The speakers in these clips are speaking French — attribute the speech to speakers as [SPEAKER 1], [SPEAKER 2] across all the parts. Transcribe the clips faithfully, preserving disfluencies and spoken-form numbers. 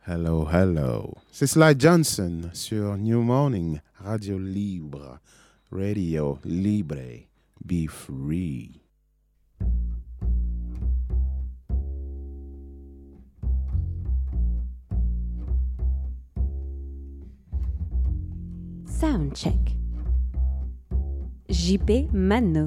[SPEAKER 1] Hello, hello. C'est Sly Johnson sur New Morning, Radio Libre, Radio Libre, be free.
[SPEAKER 2] Soundcheck. J P Mano.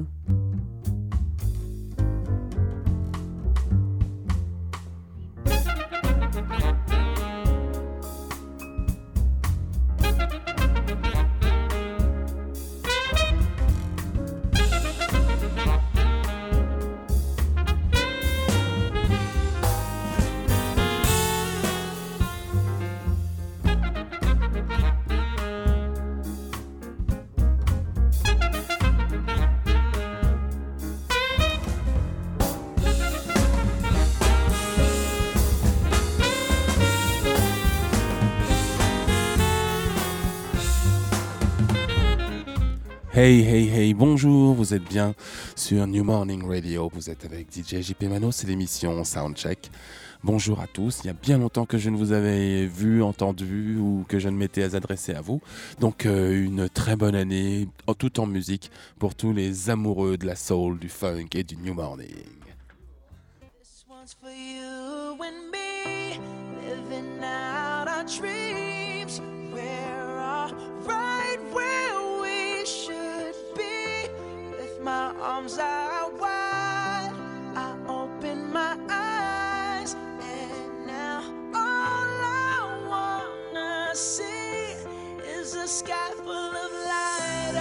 [SPEAKER 3] Hey, hey, hey, bonjour, vous êtes bien sur New Morning Radio, vous êtes avec D J J P Mano, c'est l'émission Soundcheck. Bonjour à tous, il y a bien longtemps que je ne vous avais vu, entendu ou que je ne m'étais adressé à vous. Donc euh, une très bonne année, tout en musique, pour tous les amoureux de la soul, du funk et du New Morning.
[SPEAKER 4] This one's for you and me, living out our dreams. We're all right where we should be. With my arms out wide, I open my eyes, and now all I wanna see is a sky full of lighters,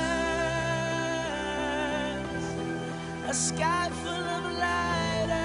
[SPEAKER 4] a sky full of lighters.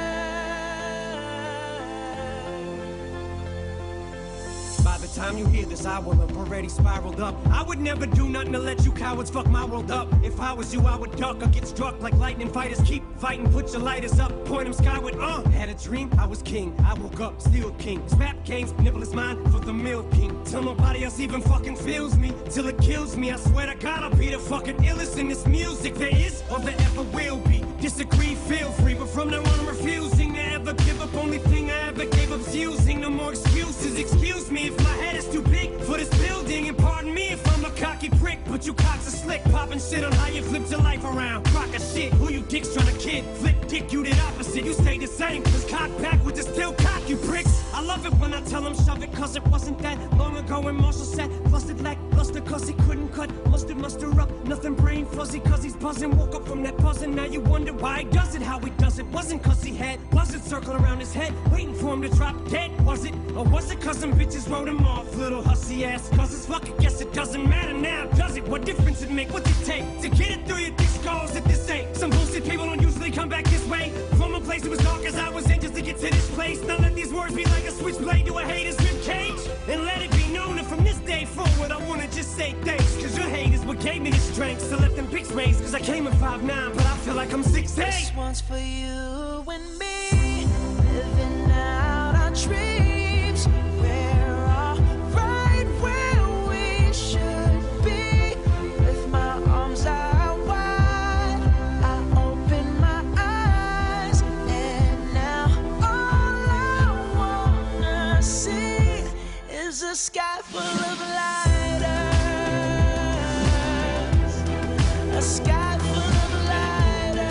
[SPEAKER 5] By the time you hear this, I will have already spiraled up. I would never do nothing to let you cowards fuck my world up. If I was you, I would duck or get struck like lightning fighters. Keep fighting, put your lighters up, point them skyward. Uh, had a dream, I was king. I woke up, still king. Snap games, nibble is mine for the milking. Till nobody else even fucking feels me, till it kills me. I swear to God, I'll be the fucking illest in this music there is or there ever will be. Disagree, feel free, but from now on I'm refusing to ever give up. Only thing I ever gave up's using. No more excuses. Excuse me if my head is too big for this building, and pardon me if I'm a cocky prick, but you cocks are slick, popping shit on how you flipped your life around. Rock a shit, who you dicks trying to kid? Flip dick, you did opposite, you stay the same. Cause cock backwards is still cock, you pricks. I love it when I tell them shove it, cause it wasn't that long ago when Marshall said busted lack, luster cause he couldn't cut, mustard muster up, nothing brain fuzzy cause he's buzzing. Woke up from that buzzing, now you wonder why he does it, how he does it. Wasn't cause he had buzzards circling around his head, waiting for him to drop dead, was it? Or was it cause some bitches wrote him off, little hussy ass? Cause it's fuck, I guess it doesn't matter now, does it? What difference it make? What's it take to get it through your thick skulls that this ain't? Some bullshit people don't usually come back this way. From a place that was dark as I was in just to get to this place. Now let these words be like a switchblade to a hater's ribcage. And let it be known that from this day forward I wanna just say thanks. Cause your hate is what gave me the strength to let them pics raise. Cause I came at five nine, but I feel like I'm six eight.
[SPEAKER 4] This one's for you and me, living out our dreams. We're all right where we should be. With my arms out wide, I open my eyes, and now all I wanna see is a sky full of lighters, a sky full of lighters.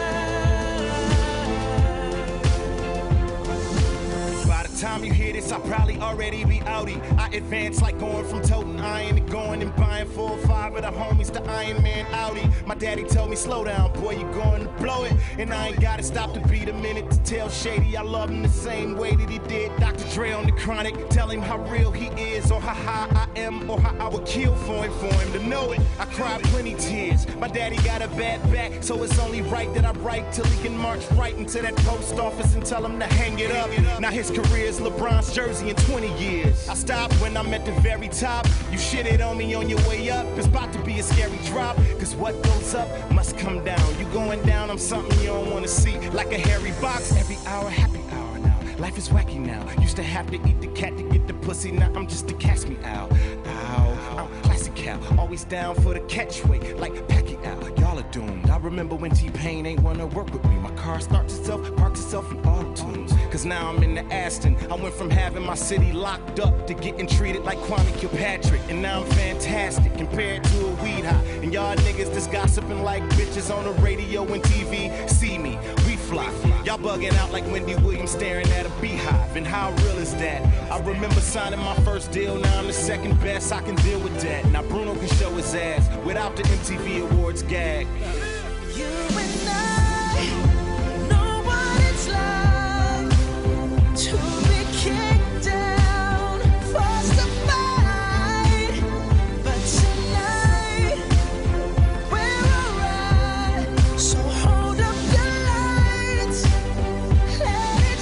[SPEAKER 6] By the time you hear this, I'll probably already be outie. I advance like going from toting iron to going and buying four or five of the homies to Iron Man Audi. My daddy told me, slow down, boy, you going to blow it. And I ain't gotta stop to beat a minute to tell Shady I love him the same way that he did Doctor Dre on the Chronic. Tell him how real he is, or how high I am, or how I would kill for him, for him to know it. I cried plenty tears. My daddy got a bad back, so it's only right that I write till he can march right into that post office and tell him to hang it up. Now his career's LeBron's jersey in twenty years. I stopped when I'm at the very top. You shitted on me on your way up. It's about to be a scary drop, cause what goes up must come down. You going down, I'm something you don't wanna see. Like a hairy box, every hour, happy hour now. Life is wacky now. Used to have to eat the cat to get the pussy. Now I'm just a cast me out. Ow, I'm classic cow. Always down for the catchweight, like Pacquiao. Y'all are doomed. I remember when T-Pain ain't wanna work with me. My car starts itself, parks itself in auto-tunes. Cause now I'm in the Aston. I went from having my city locked up to getting treated like Kwame Kilpatrick. And now I'm fantastic compared to a weed high. And y'all niggas just gossiping like bitches on the radio and T V. See me, we fly. Y'all bugging out like Wendy Williams staring at a beehive. And how real is that? I remember signing my first deal, now I'm the second best, I can deal with that. Now Bruno can show his ass without the M T V Awards gag.
[SPEAKER 4] You and I know what it's like to be kicked down, forced to fight. But tonight we're alright. So hold up your lights, let it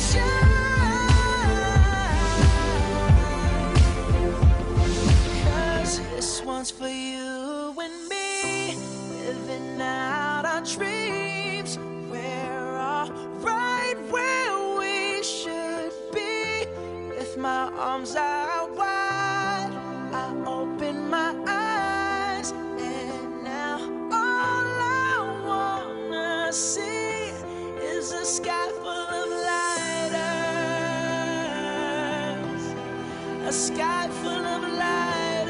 [SPEAKER 4] shine. 'Cause this one's for you and me, living out our dreams. We're all right where we should be. With my arms out wide, I open my eyes, and now all I wanna see is a sky full of lighters, a sky full of lighters.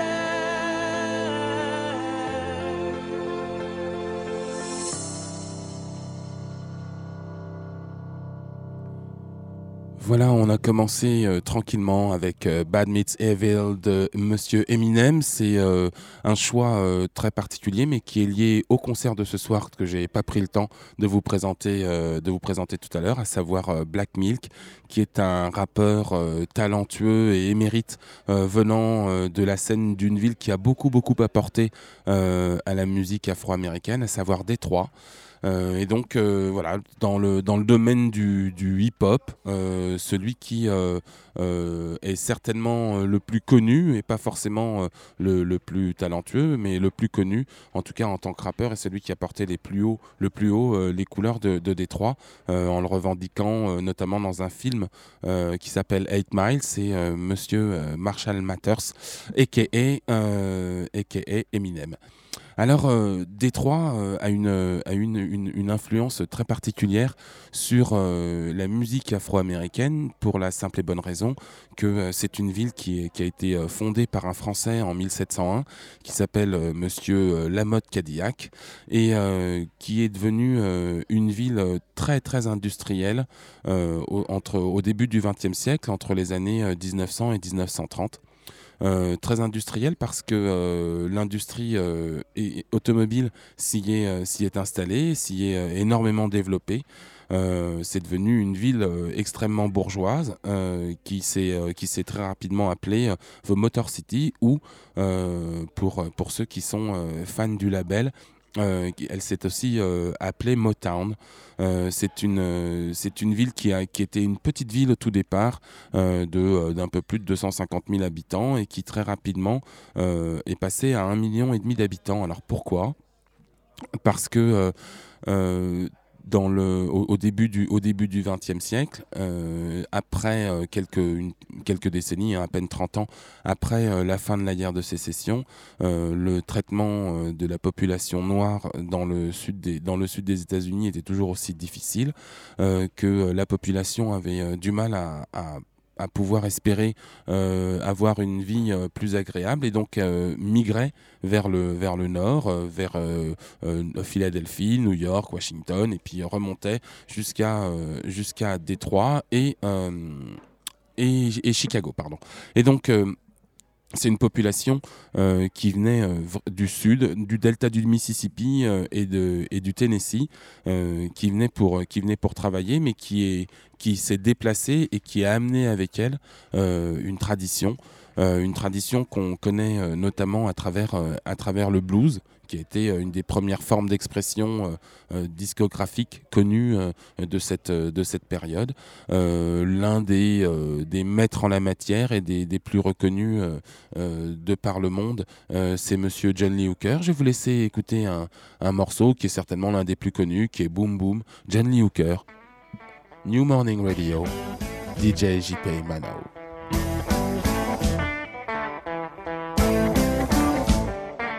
[SPEAKER 3] Voilà, on a commencé euh, tranquillement avec euh, Bad Meets Evil de Monsieur Eminem. C'est euh, un choix euh, très particulier, mais qui est lié au concert de ce soir que j'ai pas pris le temps de vous présenter, euh, de vous présenter tout à l'heure, à savoir euh, Black Milk, qui est un rappeur euh, talentueux et émérite euh, venant euh, de la scène d'une ville qui a beaucoup beaucoup apporté euh, à la musique afro-américaine, à savoir Détroit. Euh, et donc euh, voilà, dans le dans le domaine du, du hip-hop, euh, celui qui euh, euh, est certainement le plus connu et pas forcément euh, le, le plus talentueux, mais le plus connu, en tout cas en tant que rappeur, est celui qui a porté les plus hauts, le plus haut euh, les couleurs de, de Détroit, euh, en le revendiquant euh, notamment dans un film euh, qui s'appelle Eight Miles. C'est euh, Monsieur euh, Marshall Mathers, aka euh, aka Eminem. Alors, euh, Détroit euh, a, une, euh, a une, une, une influence très particulière sur euh, la musique afro-américaine, pour la simple et bonne raison que euh, c'est une ville qui, est, qui a été euh, fondée par un Français en mille sept cent un, qui s'appelle euh, Monsieur euh, Lamotte Cadillac, et euh, qui est devenue euh, une ville euh, très très industrielle euh, au, entre, au début du vingtième siècle, entre les années euh, dix-neuf cents et dix-neuf cent trente. Euh, très industriel parce que euh, l'industrie euh, est, automobile s'y est, euh, s'y est installée, s'y est euh, énormément développée. Euh, c'est devenu une ville euh, extrêmement bourgeoise euh, qui, s'est, euh, qui s'est très rapidement appelée euh, The Motor City, ou euh, pour, pour ceux qui sont euh, fans du label, Euh, elle s'est aussi euh, appelée Motown. Euh, c'est une euh, c'est une ville qui a qui était une petite ville au tout départ euh, de euh, d'un peu plus de deux cent cinquante mille habitants, et qui très rapidement euh, est passée à un million et demi d'habitants. Alors pourquoi ? Parce que euh, euh, dans le, au, au début du au début du vingtième siècle, euh, après euh, quelques une, quelques décennies, hein, à peine trente ans après euh, la fin de la guerre de sécession, euh, le traitement euh, de la population noire dans le sud des dans le sud des États-Unis était toujours aussi difficile, euh, que la population avait euh, du mal à, à à pouvoir espérer euh, avoir une vie euh, plus agréable, et donc euh, migrait vers le, vers le nord, euh, vers euh, euh, Philadelphie, New York, Washington, et puis remontait jusqu'à euh, jusqu'à Détroit et, euh, et, et Chicago. Pardon. Et donc, euh, c'est une population euh, qui venait euh, du sud, du delta du Mississippi euh, et, de, et du Tennessee, euh, qui venait pour, qui venait pour travailler, mais qui, est, qui s'est déplacée et qui a amené avec elle euh, une tradition, euh, une tradition qu'on connaît euh, notamment à travers, euh, à travers le blues, qui a été euh, une des premières formes d'expression euh, euh, discographique connues euh, de, cette, euh, de cette période. Euh, l'un des, euh, des maîtres en la matière et des, des plus reconnus euh, euh, de par le monde, euh, c'est Monsieur John Lee Hooker. Je vais vous laisser écouter un, un morceau qui est certainement l'un des plus connus, qui est Boom Boom, John Lee Hooker, New Morning Radio, D J J P Mano.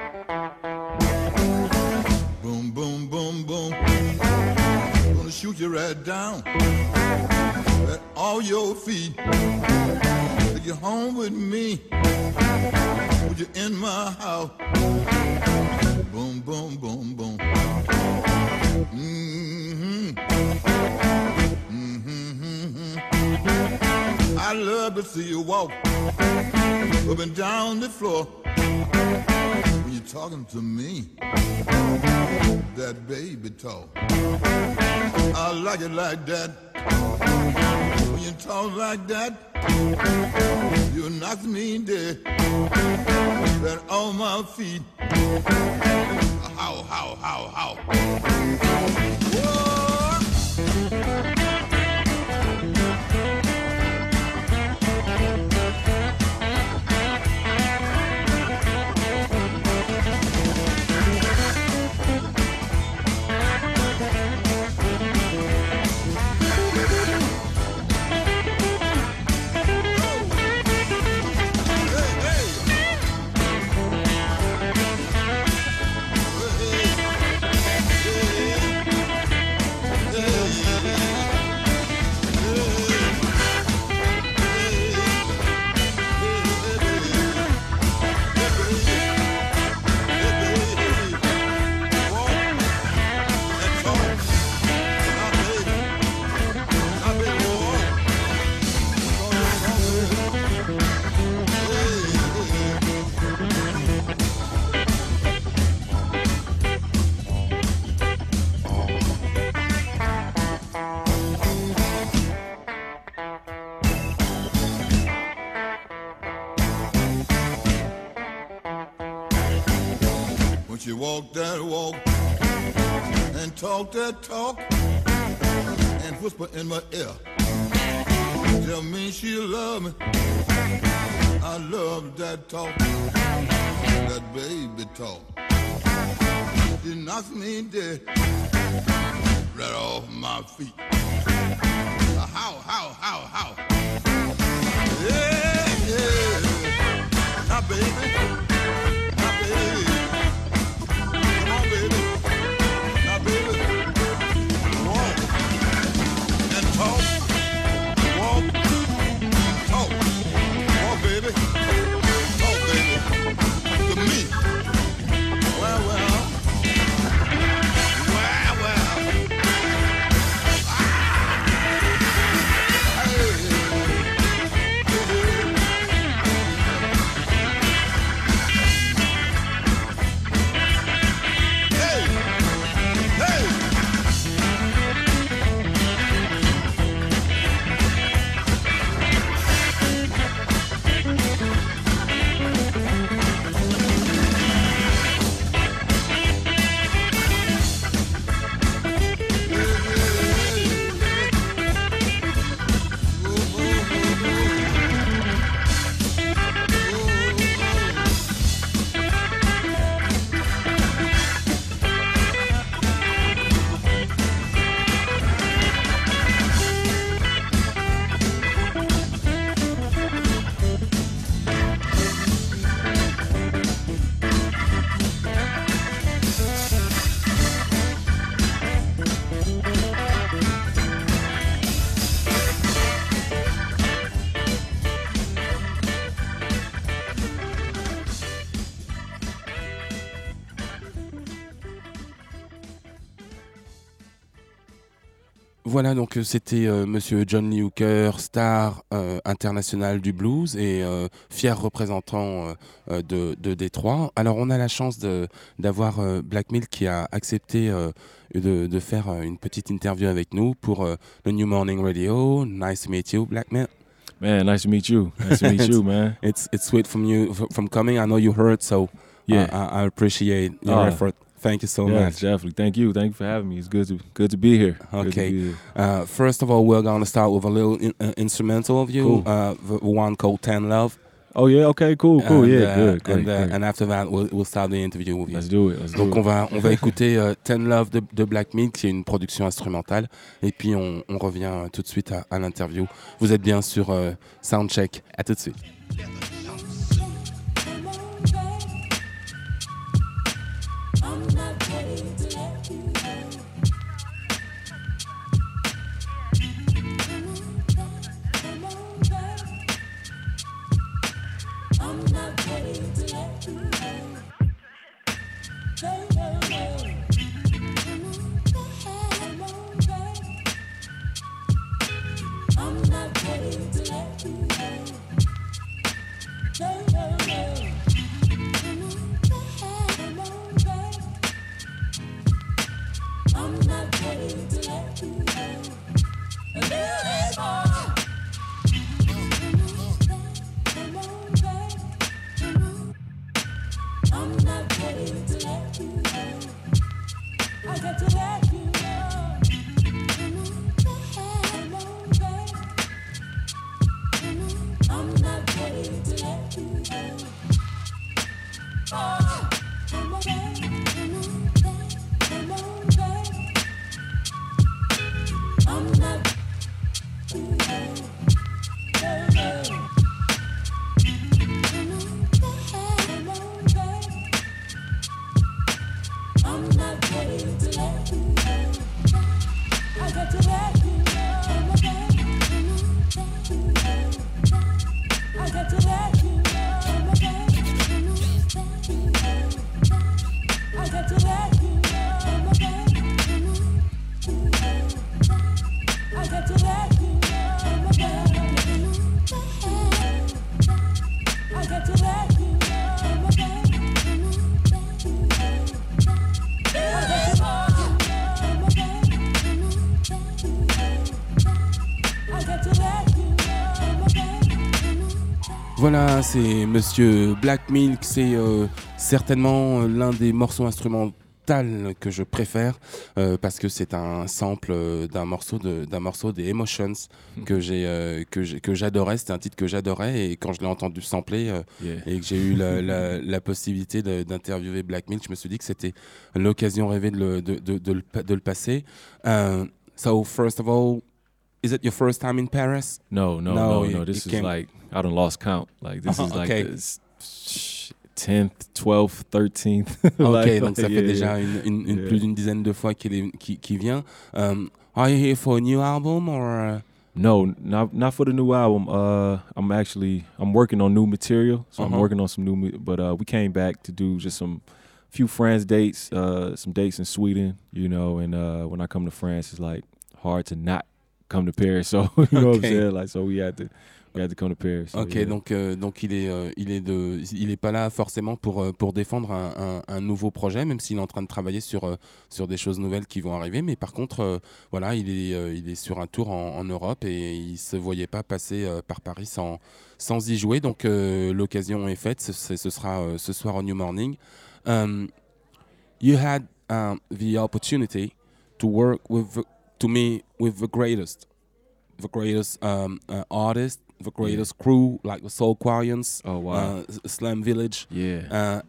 [SPEAKER 7] right down at all your feet. Take you home with me. Put you in my house. Boom, boom, boom, boom. Mm-hmm. Mm-hmm. I love to see you walk up and down the floor when you're talking to me. That baby talk. I like it like that. When you talk like that, you knock me dead. Right on my feet. How, how, how, how. Whoa. She walk that walk and talk that talk and whisper in my ear. Tell me she love me. I love that talk, that baby talk. She knocks me dead right off my feet. How, how, how, how? Yeah, yeah. Now, baby. Now, baby. Talk, walk, talk, walk, baby, talk, baby, to me. Well, well, well, well. Ah! Hey, hey, hey, hey.
[SPEAKER 3] Voilà, donc euh, c'était euh, Monsieur John Lee Hooker, star euh, international du blues et euh, fier représentant euh, euh, de, de Détroit. Alors on a la chance de, d'avoir euh, Black Milk qui a accepté euh, de, de faire euh, une petite interview avec nous pour euh, le New Morning Radio. Nice to meet you, Black Milk.
[SPEAKER 8] Man, nice to meet you. Nice to meet you, man.
[SPEAKER 3] It's it's sweet from you from coming. I know you heard, so
[SPEAKER 8] yeah,
[SPEAKER 3] uh, I, I appreciate your
[SPEAKER 8] uh,
[SPEAKER 3] effort. Thank you so
[SPEAKER 8] yeah,
[SPEAKER 3] much.
[SPEAKER 8] Definitely. Thank you. Thank you for having me. It's good to good to be here.
[SPEAKER 3] Okay.
[SPEAKER 8] Be here.
[SPEAKER 3] Uh, first of all, we're gonna start with a little in, uh, instrumental of you,
[SPEAKER 8] Cool.
[SPEAKER 3] uh, the one called Ten Love.
[SPEAKER 8] Oh yeah. Okay. Cool. Cool.
[SPEAKER 3] And,
[SPEAKER 8] yeah.
[SPEAKER 3] uh,
[SPEAKER 8] Good. Great,
[SPEAKER 3] and, uh,
[SPEAKER 8] great.
[SPEAKER 3] and after that, we'll, we'll start the interview with you.
[SPEAKER 8] Let's do it. Let's
[SPEAKER 3] Donc
[SPEAKER 8] do
[SPEAKER 3] on
[SPEAKER 8] it.
[SPEAKER 3] va on va écouter euh, Ten Love de, de Black Milk, qui est une production instrumentale, et puis on, on revient euh, tout de suite à, à l'interview. Vous êtes bien sur euh, Soundcheck. À tout de suite.
[SPEAKER 4] I'm not ready to let you go. No, no, no. I'm not ready to let you go. No, no, no. I'm not ready to let you go. A little bit more. I'm not ready to let you go. I got to let you know. I'm not ready to let you go. Oh, I'm okay. I'm okay. I'm not too late. No, no. I'm not ready to let you go. I got to let you know I'm okay. I got to let you know I'm okay. I got to let you know I'm okay. I got to let you know I'm okay. I got to let you know I'm okay.
[SPEAKER 3] Voilà, c'est Monsieur Black Milk, c'est euh, certainement l'un des morceaux instrumentaux que je préfère euh, parce que c'est un sample euh, d'un morceau de d'un morceau des Emotions que j'ai euh, que j'ai, que j'adorais. C'était un titre que j'adorais et quand je l'ai entendu sampler euh, yeah. et que j'ai eu la, la, la possibilité de, d'interviewer Black Milk, je me suis dit que c'était l'occasion rêvée de le de de, de, le, de le passer. Uh, so first of all, is it your first time in Paris?
[SPEAKER 8] No, no, no, no. no. This is came... like I done lost count. Like this uh-huh, is like okay. this tenth, twelfth, thirteenth.
[SPEAKER 3] Ok,
[SPEAKER 8] like,
[SPEAKER 3] donc ça
[SPEAKER 8] yeah,
[SPEAKER 3] fait déjà
[SPEAKER 8] yeah.
[SPEAKER 3] une, une, une
[SPEAKER 8] yeah.
[SPEAKER 3] plus d'une dizaine de fois qu'il, est, qu'il, qu'il vient. Um, are you here for a new album or? Uh...
[SPEAKER 8] No, not not for the new album. Uh, I'm actually I'm working on new material, so uh-huh. I'm working on some new. But uh, we came back to do just some few France dates, uh, some dates in Sweden, you know. And uh, when I come to France, it's like hard to not come to Paris. So you know okay. what I'm saying? Like, so we had to. We had to come to Paris, so
[SPEAKER 3] ok,
[SPEAKER 8] yeah.
[SPEAKER 3] donc euh, donc il est euh, il est de il est pas là forcément pour euh, pour défendre un, un, un nouveau projet, même s'il est en train de travailler sur euh, sur des choses nouvelles qui vont arriver. Mais par contre, euh, voilà, il est euh, il est sur un tour en, en Europe et il se voyait pas passer euh, par Paris sans sans y jouer. Donc euh, l'occasion est faite. Ce, ce sera euh, ce soir au New Morning. Um, you had um, the opportunity to work with to me with the greatest, the greatest um, uh, artist. The greatest yeah. crew, like the Soulquarians,
[SPEAKER 8] oh, wow.
[SPEAKER 3] uh, Slam Village.
[SPEAKER 8] Yeah.
[SPEAKER 3] Uh,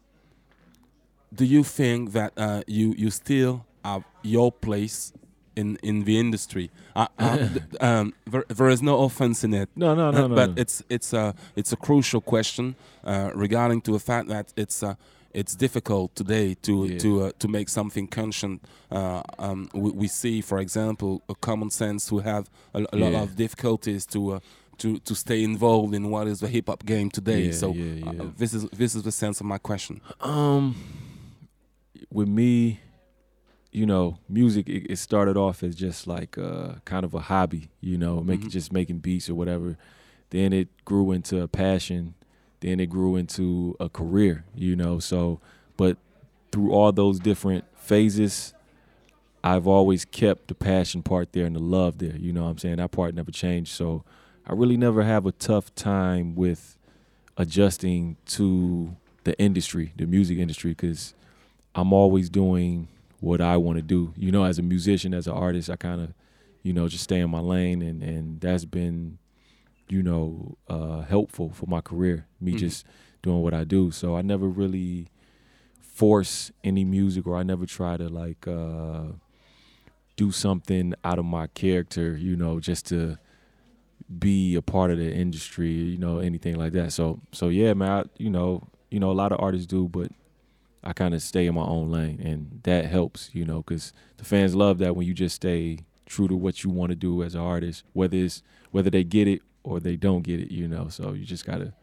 [SPEAKER 3] do you think that uh, you you still have your place in, in the industry? Uh, uh, um, there, there is no offense in it.
[SPEAKER 8] No, no, no,
[SPEAKER 3] uh,
[SPEAKER 8] no.
[SPEAKER 3] But
[SPEAKER 8] no.
[SPEAKER 3] it's it's a it's a crucial question uh, regarding to the fact that it's uh, it's difficult today to
[SPEAKER 8] yeah.
[SPEAKER 3] to uh, to make something conscient. Uh, um, we, we see, for example, a Common Sense who have a, a lot
[SPEAKER 8] yeah.
[SPEAKER 3] of difficulties to. Uh, To, to stay involved in what is the hip hop game today.
[SPEAKER 8] Yeah,
[SPEAKER 3] so
[SPEAKER 8] yeah, yeah.
[SPEAKER 3] Uh, this is this is the sense of my question.
[SPEAKER 8] Um, with me, you know, music it, it started off as just like uh, kind of a hobby, you know, making mm-hmm. just making beats or whatever. Then it grew into a passion. Then it grew into a career, you know. So, but through all those different phases, I've always kept the passion part there and the love there. You know what I'm saying? That part never changed. So. I really never have a tough time with adjusting to the industry, the music industry, because I'm always doing what I want to do. You know, as a musician, as an artist, I kind of, you know, just stay in my lane, and, and that's been, you know, uh, helpful for my career, me mm-hmm. just doing what I do. So I never really force any music, or I never try to, like, uh, do something out of my character, you know, just to be a part of the industry, you know, anything like that. So, so yeah, man, I, you know, you know, a lot of artists do, but I kind of stay in my own lane, and that helps, you know, because the fans love that when you just stay true to what you want to do as an artist, whether it's whether they get it or they don't get it, you know. So you just gotta,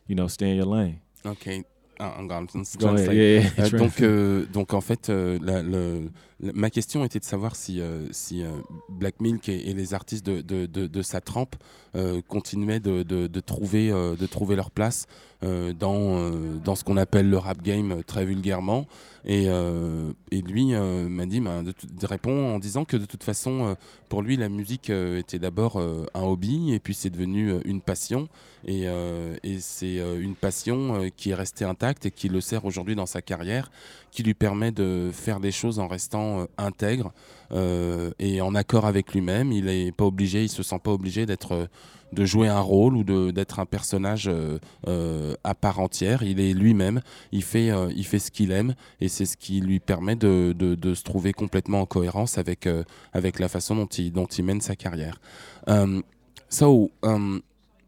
[SPEAKER 8] you know, stay in your lane.
[SPEAKER 3] Ok. Ah, I'm going to
[SPEAKER 8] Go ahead.
[SPEAKER 3] translate.
[SPEAKER 8] Yeah, yeah.
[SPEAKER 3] Euh, donc, euh, donc en fait, euh, la- le- la- ma question était de savoir si, euh, si euh, Black Milk et, et les artistes de, de, de, de sa trempe euh, continuaient de, de, de, trouver, euh, de trouver leur place euh, dans, euh, dans ce qu'on appelle le rap game euh, très vulgairement. Et, euh, et lui euh, m'a dit, bah, de, de répond en disant que de toute façon, euh, pour lui, la musique euh, était d'abord euh, un hobby et puis c'est devenu euh, une passion. Et, euh, et c'est euh, une passion euh, qui est restée intacte et qui le sert aujourd'hui dans sa carrière, qui lui permet de faire des choses en restant euh, intègre euh, et en accord avec lui-même. Il est pas obligé, il se sent pas obligé d'être, euh, de jouer un rôle ou de, d'être un personnage euh, euh, à part entière. Il est lui-même, il fait, euh, il fait ce qu'il aime et c'est ce qui lui permet de, de, de se trouver complètement en cohérence avec, euh, avec la façon dont il, dont il mène sa carrière. Um, so, um,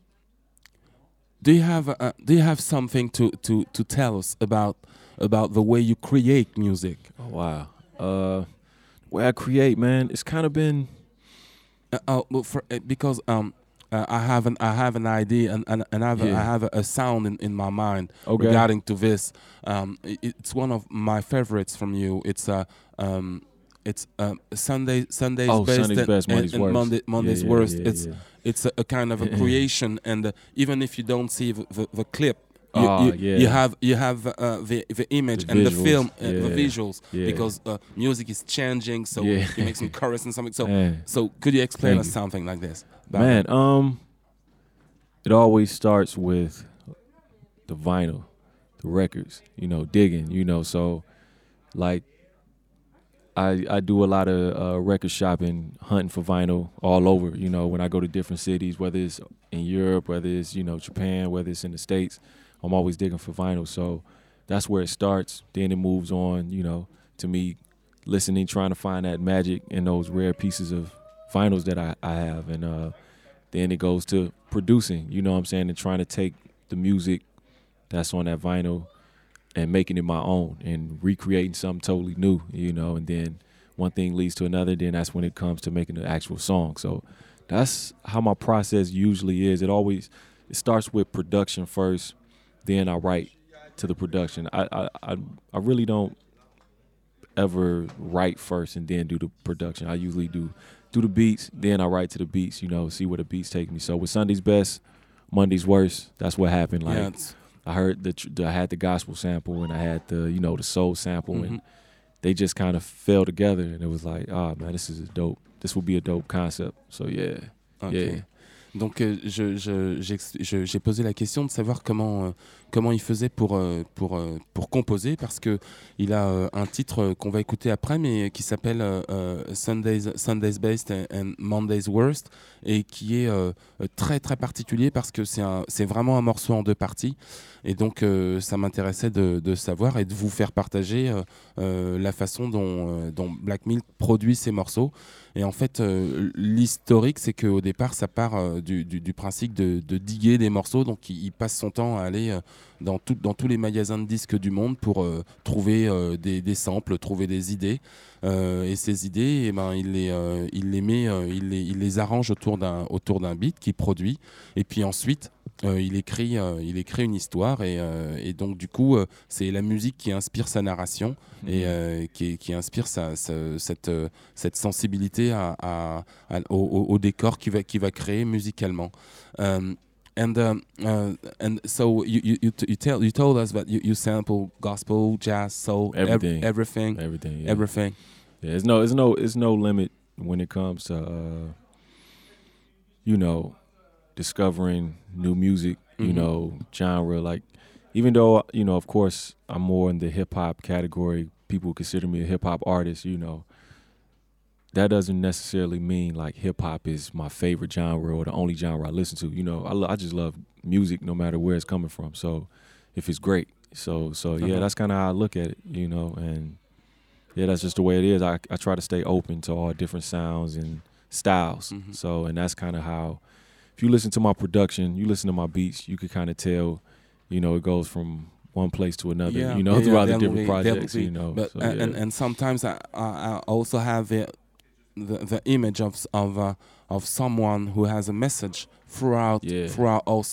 [SPEAKER 3] Do you have uh, do you have something to, to, to tell us about about the way you create music?
[SPEAKER 8] Oh, wow. Uh, the way I create, man, it's kind of been.
[SPEAKER 3] Uh, uh, well, for, uh, because um, uh, I have an I have an idea and and, and I have, a,
[SPEAKER 8] Yeah.
[SPEAKER 3] I have a, a sound in, in my mind
[SPEAKER 8] Okay.
[SPEAKER 3] regarding to this. Um, it, it's one of my favorites from you. It's a uh, um, it's um, Sunday Sunday's
[SPEAKER 8] Oh,
[SPEAKER 3] best
[SPEAKER 8] Sunday's
[SPEAKER 3] and,
[SPEAKER 8] best,
[SPEAKER 3] and-
[SPEAKER 8] Monday's
[SPEAKER 3] and
[SPEAKER 8] worst.
[SPEAKER 3] Monday, Monday's
[SPEAKER 8] Yeah, yeah,
[SPEAKER 3] worst.
[SPEAKER 8] yeah,
[SPEAKER 3] it's
[SPEAKER 8] yeah.
[SPEAKER 3] it's a, a kind of a
[SPEAKER 8] Yeah.
[SPEAKER 3] creation, and uh, even if you don't see the, the, the clip. You,
[SPEAKER 8] Ah,
[SPEAKER 3] you,
[SPEAKER 8] yeah.
[SPEAKER 3] you have you have uh, the the image
[SPEAKER 8] The
[SPEAKER 3] and the
[SPEAKER 8] visuals,
[SPEAKER 3] film uh, the
[SPEAKER 8] yeah,
[SPEAKER 3] visuals
[SPEAKER 8] yeah.
[SPEAKER 3] because uh, music is changing, so
[SPEAKER 8] Yeah.
[SPEAKER 3] you make some chorus and something. So
[SPEAKER 8] Man.
[SPEAKER 3] so could you explain
[SPEAKER 8] Thank
[SPEAKER 3] us
[SPEAKER 8] you.
[SPEAKER 3] something like this? about
[SPEAKER 8] Man,
[SPEAKER 3] that?
[SPEAKER 8] um, it always starts with the vinyl, the records, you know, digging, you know. So, like, I I do a lot of uh, record shopping, hunting for vinyl all over, you know, when I go to different cities, whether it's in Europe, whether it's, you know, Japan, whether it's in the States, I'm always digging for vinyl. So that's where it starts. Then it moves on, you know, to me listening, trying to find that magic in those rare pieces of vinyls that I, I have. And uh, then it goes to producing, you know what I'm saying, and trying to take the music that's on that vinyl and making it my own and recreating something totally new, you know, and then one thing leads to another, then that's when it comes to making the actual song. So that's how my process usually is. It always, it starts with production first, then I write to the production. I I, I, I really don't ever write first and then do the production. I usually do do the beats, then I write to the beats, you know, see where the beats take me. So with Sunday's Best, Monday's Worst, that's what happened. Like
[SPEAKER 3] Yeah, it's-
[SPEAKER 8] I heard the, tr- the I had the gospel sample and I had the, you know, the soul sample
[SPEAKER 3] Mhm.
[SPEAKER 8] and they just kind of fell together and it was like, ah man, this is a dope, this will be a dope concept. So yeah,
[SPEAKER 3] Ok.
[SPEAKER 8] yeah.
[SPEAKER 3] Donc euh, je, je- j'ex- je- j'ai posé la question de savoir comment, euh, comment il faisait pour, euh, pour, euh, pour composer parce que il a euh, un titre euh, qu'on va écouter après mais qui s'appelle euh, euh, Sunday's, Sunday's Best and, and Monday's Worst et qui est euh, euh, très très particulier parce que c'est, un, c'est vraiment un morceau en deux parties et donc euh, ça m'intéressait de, de savoir et de vous faire partager euh, euh, la façon dont, euh, dont Black Milk produit ses morceaux. Et en fait, euh, l'historique, c'est qu'au départ, ça part euh, du, du- du principe de, de diguer des morceaux. Donc, il, il passe son temps à aller euh, dans, tout- dans tous les magasins de disques du monde pour euh, trouver euh, des, des samples, trouver des idées. Euh, et ces idées, eh ben, il, les, euh, il les met, euh, il les, il les arrange autour d'un, autour d'un beat qu'il produit. Et puis ensuite, euh, il, écrit, euh, il écrit une histoire. Et, euh, et donc, du coup, euh, c'est la musique qui inspire sa narration et euh, qui, qui inspire sa, sa- cette, euh, cette sensibilité à, à- à- au, au- au décor qu'il va, qu'il va créer musicalement. Um, and um, uh, and so you you you, t- you tell you told us that you, you sample gospel, jazz, soul, ev-
[SPEAKER 8] Everything.
[SPEAKER 3] everything,
[SPEAKER 8] Everything, yeah.
[SPEAKER 3] everything.
[SPEAKER 8] Yeah, there's no, there's no, there's no limit when it comes to, uh, you know, discovering new music, you
[SPEAKER 3] Mhm.
[SPEAKER 8] know, genre. Like, even though, you know, of course, I'm more in the hip hop category. People consider me a hip hop artist, you know. That doesn't necessarily mean like hip hop is my favorite genre or the only genre I listen to. You know, I, lo- I just love music no matter where it's coming from. So if it's great, so so yeah,
[SPEAKER 3] Uh-huh.
[SPEAKER 8] that's kind of how I look at it, you know, and yeah, that's just the way it is. I I try to stay open to all different sounds and styles.
[SPEAKER 3] Mhm.
[SPEAKER 8] So and that's kind of how. If you listen to my production, you listen to my beats, you could kind of tell, you know, it goes from one place to another,
[SPEAKER 3] Yeah,
[SPEAKER 8] you know,
[SPEAKER 3] yeah,
[SPEAKER 8] throughout
[SPEAKER 3] yeah,
[SPEAKER 8] the
[SPEAKER 3] that
[SPEAKER 8] different
[SPEAKER 3] will be- that
[SPEAKER 8] projects,
[SPEAKER 3] will be-
[SPEAKER 8] you know.
[SPEAKER 3] But
[SPEAKER 8] so,
[SPEAKER 3] and,
[SPEAKER 8] yeah.
[SPEAKER 3] and and sometimes I I, I also have the the, the image of s- of uh, of someone who has a message throughout
[SPEAKER 8] Yeah.
[SPEAKER 3] throughout also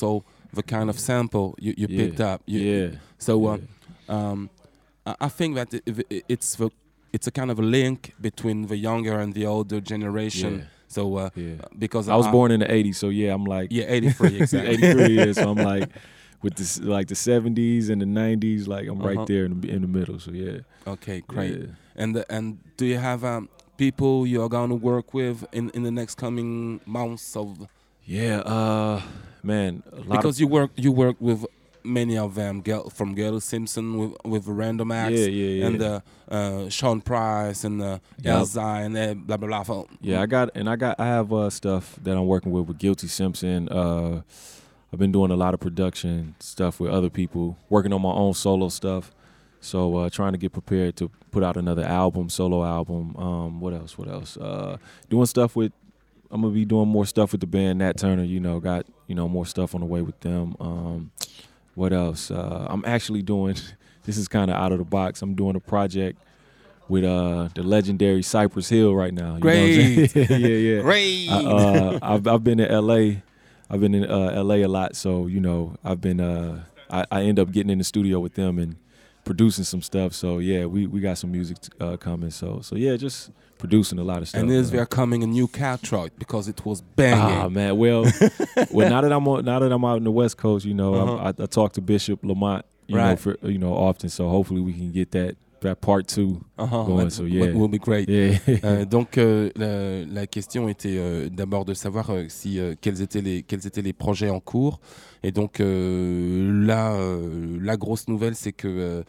[SPEAKER 3] the kind of sample you, you
[SPEAKER 8] Yeah.
[SPEAKER 3] picked up. You,
[SPEAKER 8] Yeah.
[SPEAKER 3] So uh,
[SPEAKER 8] Yeah.
[SPEAKER 3] um, I I think that it, it- it's the it's a kind of a link between the younger and the older generation.
[SPEAKER 8] Yeah.
[SPEAKER 3] So uh,
[SPEAKER 8] Yeah.
[SPEAKER 3] because
[SPEAKER 8] I was born in the eighties, so yeah, I'm like
[SPEAKER 3] yeah eighty-three exactly.
[SPEAKER 8] eighty-three years, so I'm like with this like the seventies and the nineties, like I'm
[SPEAKER 3] Uh-huh.
[SPEAKER 8] right there in the, in the middle. So yeah.
[SPEAKER 3] Okay, great.
[SPEAKER 8] Yeah.
[SPEAKER 3] And the, and do you have um, people you are going to work with in, in the next coming months of?
[SPEAKER 8] Yeah, uh, man, a lot
[SPEAKER 3] Because
[SPEAKER 8] of,
[SPEAKER 3] you work you work with many of them, Gel, from Gail Simpson with with Random Acts,
[SPEAKER 8] Yeah, yeah, yeah.
[SPEAKER 3] and uh, uh, Sean Price and uh,
[SPEAKER 8] Yeah.
[SPEAKER 3] Elza and uh, blah blah blah.
[SPEAKER 8] yeah, I got and I got I have uh, stuff that I'm working with with Guilty Simpson. Uh, I've been doing a lot of production stuff with other people, working on my own solo stuff. So uh, trying to get prepared to put out another album, solo album. Um, what else? What else? Uh, doing stuff with. I'm gonna be doing more stuff with the band Nat Turner. You know, got you know more stuff on the way with them. Um, what else? Uh, I'm actually doing. This is kind of out of the box. I'm doing a project with uh, the legendary Cypress Hill right now. You
[SPEAKER 3] Great.
[SPEAKER 8] know what I'm saying? yeah, yeah.
[SPEAKER 3] Great.
[SPEAKER 8] I, uh, I've I've been in L A. I've been in uh, L A a lot, so you know I've been. Uh, I, I end up getting in the studio with them and producing some stuff. So yeah, we, we got some music uh, coming. So so yeah, just producing a lot of stuff.
[SPEAKER 3] And is
[SPEAKER 8] uh,
[SPEAKER 3] there coming a new Caltroit because it was banging?
[SPEAKER 8] Ah man, well, well now that I'm on, now that I'm out in the West Coast, you know,
[SPEAKER 3] Uh-huh.
[SPEAKER 8] I, I, I talk to Bishop Lamont, you know,
[SPEAKER 3] Right.
[SPEAKER 8] for you know often. So hopefully we can get that that part two
[SPEAKER 3] Uh-huh,
[SPEAKER 8] going.
[SPEAKER 3] that
[SPEAKER 8] So
[SPEAKER 3] w-
[SPEAKER 8] yeah,
[SPEAKER 3] will be great.
[SPEAKER 8] Yeah.
[SPEAKER 3] Euh, donc euh, la, la question était euh, d'abord de savoir euh, si euh, quels étaient les quels étaient les projets en cours. Et donc euh, là, euh, la grosse nouvelle, c'est que euh,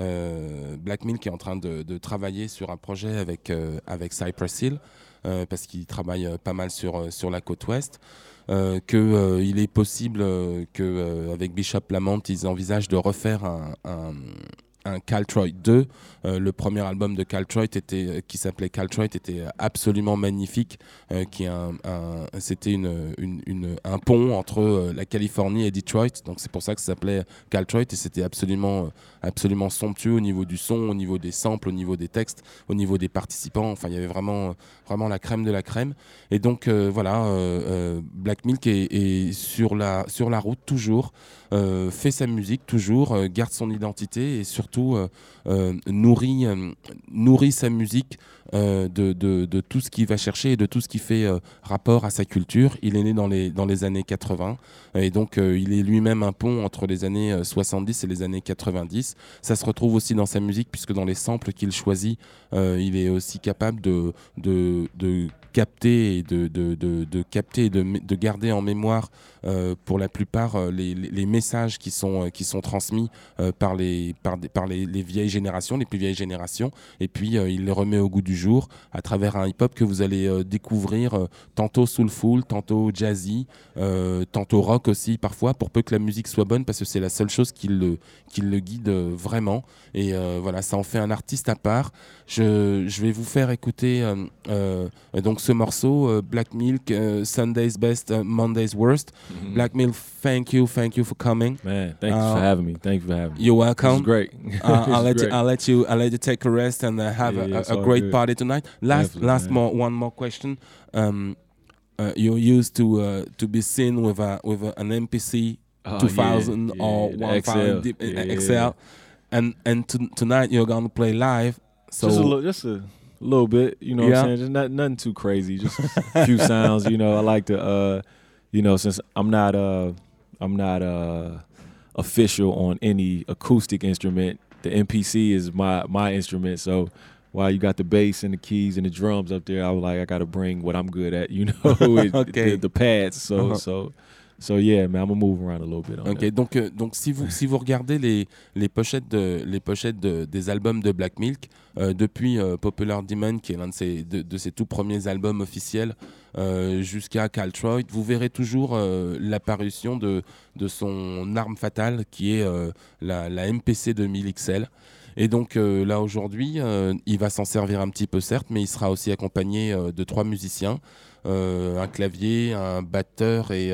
[SPEAKER 3] euh, Black Milk est en train de, de travailler sur un projet avec euh, avec Cypress Hill euh, parce qu'il travaille euh, pas mal sur euh, sur la côte ouest. Euh, que euh, il est possible euh, que euh, avec Bishop Lamont, ils envisagent de refaire un, un un Caltroit deux. Euh, le premier album de Caltroit était, euh, qui s'appelait Caltroit était absolument magnifique, euh, qui est un, un, c'était une, une, une, un pont entre euh, la Californie et Detroit, donc c'est pour ça que ça s'appelait Caltroit, et c'était absolument, absolument somptueux au niveau du son, au niveau des samples, au niveau des textes, au niveau des participants. Enfin, il y avait vraiment, vraiment la crème de la crème. Et donc euh, voilà, euh, euh, Black Milk est, est sur, la, sur la route toujours, euh, fait sa musique toujours, euh, garde son identité et surtout euh, euh, nourrit, euh, nourrit sa musique euh, de, de, de tout ce qu'il va chercher et de tout ce qui fait euh, rapport à sa culture. Il est né dans les, dans les années quatre-vingts et donc euh, il est lui-même un pont entre les années euh, soixante-dix et les années quatre-vingt-dix. Ça se retrouve aussi dans sa musique puisque dans les samples qu'il choisit, euh, il est aussi capable de, de, de capter et de, de, de, de capter et de, de garder en mémoire euh, pour la plupart euh, les, les, les messages qui sont, euh, qui sont transmis euh, par, les, par, des, par les, les vieilles générations, les plus vieilles générations, et puis euh, il les remet au goût du jour à travers un hip-hop que vous allez euh, découvrir euh, tantôt soulful, tantôt jazzy, euh, tantôt rock aussi parfois, pour peu que la musique soit bonne, parce que c'est la seule chose qui le, qui le guide euh, vraiment, et euh, voilà, ça en fait un artiste à part. Je, je vais vous faire écouter euh, euh, donc ce morceau, euh, Black Milk, euh, Sunday's Best, uh, Monday's Worst.
[SPEAKER 8] Mhm.
[SPEAKER 3] Black Milk, thank you, thank you for coming.
[SPEAKER 8] Man, thank you
[SPEAKER 3] Uh,
[SPEAKER 8] for having me. Thank you for having me.
[SPEAKER 3] You're welcome.
[SPEAKER 8] This is great.
[SPEAKER 3] uh, I'll
[SPEAKER 8] This
[SPEAKER 3] let
[SPEAKER 8] is
[SPEAKER 3] you.
[SPEAKER 8] great.
[SPEAKER 3] I'll let you. I'll let you take a rest and uh, have
[SPEAKER 8] Yeah,
[SPEAKER 3] a,
[SPEAKER 8] yeah, it's
[SPEAKER 3] a, a
[SPEAKER 8] all
[SPEAKER 3] great
[SPEAKER 8] good.
[SPEAKER 3] party tonight. Last,
[SPEAKER 8] Definitely,
[SPEAKER 3] last
[SPEAKER 8] man.
[SPEAKER 3] more one more question. Um, uh, you're used to uh, to be seen with a with a, an M P C
[SPEAKER 8] Oh,
[SPEAKER 3] two thousand
[SPEAKER 8] yeah,
[SPEAKER 3] or
[SPEAKER 8] yeah, the
[SPEAKER 3] one
[SPEAKER 8] X L.
[SPEAKER 3] thousand deep-
[SPEAKER 8] Yeah,
[SPEAKER 3] uh,
[SPEAKER 8] yeah,
[SPEAKER 3] X L, and and to, tonight you're gonna play live. So
[SPEAKER 8] just a little, just a little bit, you know
[SPEAKER 3] Yeah.
[SPEAKER 8] what I'm saying? Just not nothing too crazy, just a few sounds, you know. I like to uh you know, since I'm not uh I'm not uh official on any acoustic instrument, the M P C is my my instrument. So while you got the bass and the keys and the drums up there, I was like I got to bring what I'm good at, you know, with
[SPEAKER 3] Okay.
[SPEAKER 8] the, the pads. So
[SPEAKER 3] Uh-huh.
[SPEAKER 8] so so yeah, man, I'm gonna move around a little bit on
[SPEAKER 3] Ok,
[SPEAKER 8] that.
[SPEAKER 3] donc, euh, donc si vous si vous regardez les les pochettes de les pochettes de- des albums de Black Milk euh, depuis euh, Popular Demon, qui est l'un de ses de, de ses tout premiers albums officiels, euh, jusqu'à Caltroit, vous verrez toujours euh, l'apparition de de son arme fatale, qui est euh, la la M P C deux mille X L. Et donc euh, là aujourd'hui, euh, il va s'en servir un petit peu certes, mais il sera aussi accompagné euh, de trois musiciens. Euh, un clavier, un batteur et,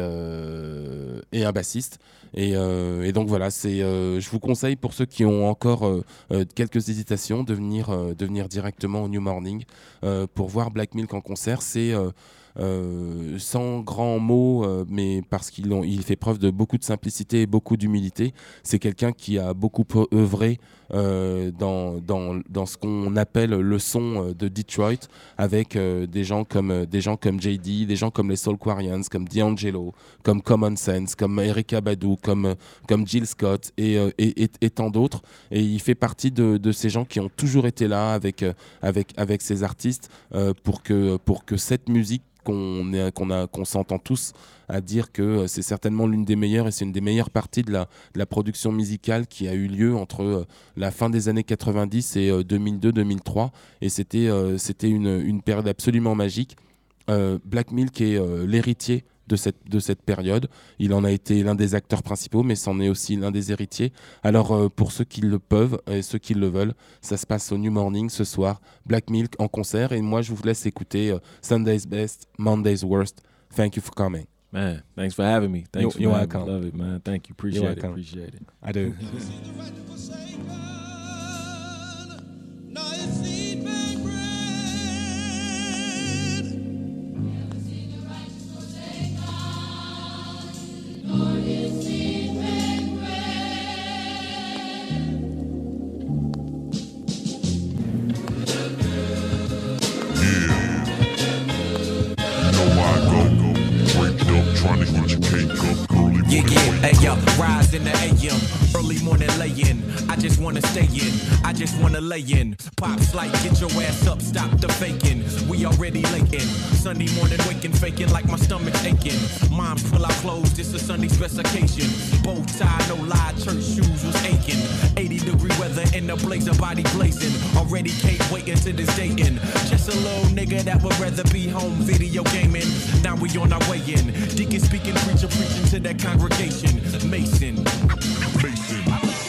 [SPEAKER 3] euh, et un bassiste. Et, euh, et donc voilà, c'est, euh, je vous conseille pour ceux qui ont encore euh, euh, quelques hésitations de venir, euh, de venir directement au New Morning euh, pour voir Black Milk en concert. C'est, euh, euh, sans grands mots, euh, mais parce qu'il ont, il fait preuve de beaucoup de simplicité et beaucoup d'humilité. C'est quelqu'un qui a beaucoup œuvré euh, dans, dans, dans ce qu'on appelle le son de Detroit, avec euh, des gens comme euh, des gens comme J D, des gens comme les Soulquarians, comme D'Angelo, comme Common Sense, comme Erykah Badu, comme comme Jill Scott et, euh, et, et, et tant d'autres. Et il fait partie de, de ces gens qui ont toujours été là avec euh, avec avec ces artistes euh, pour que pour que cette musique qu'on est, qu'on a qu'on s'entend tous à dire que c'est certainement l'une des meilleures et c'est une des meilleures parties de la, de la production musicale qui a eu lieu entre euh, la fin des années quatre-vingt-dix et euh, deux mille deux deux mille trois, et c'était euh, c'était une, une période absolument magique. euh, Black Milk est euh, l'héritier de cette, de cette période. Il en a été l'un des acteurs principaux, mais c'en est aussi l'un des héritiers. Alors euh, pour ceux qui le peuvent et ceux qui le veulent, ça se passe au New Morning ce soir, Black Milk en concert, et moi je vous laisse écouter euh, Sunday's Best, Monday's Worst. Thank you for coming.
[SPEAKER 8] Man, thanks for having me. Thanks
[SPEAKER 3] You're-
[SPEAKER 8] for
[SPEAKER 3] you're
[SPEAKER 8] having me.
[SPEAKER 3] welcome.
[SPEAKER 8] Love it, man. Thank you. Appreciate
[SPEAKER 3] You're
[SPEAKER 8] it.
[SPEAKER 3] welcome.
[SPEAKER 8] Appreciate it.
[SPEAKER 3] I do.
[SPEAKER 9] Yeah, yeah, hey yo, rise in the A M, early morning lay-in. I just wanna stay in, I just wanna lay in. Pops like, get your ass up, stop the faking. We already late in. Sunday morning waking, faking like my stomach's aching. Moms pull out clothes, this a Sunday specification. Bow tie, no lie, church shoes was aching. eighty degree weather in the blazer, body blazing. Already can't wait until this day in. Just a little nigga that would rather be home video gaming. Now we on our way in. Deacon speaking, preacher preaching to that congregation. Mason. Mason.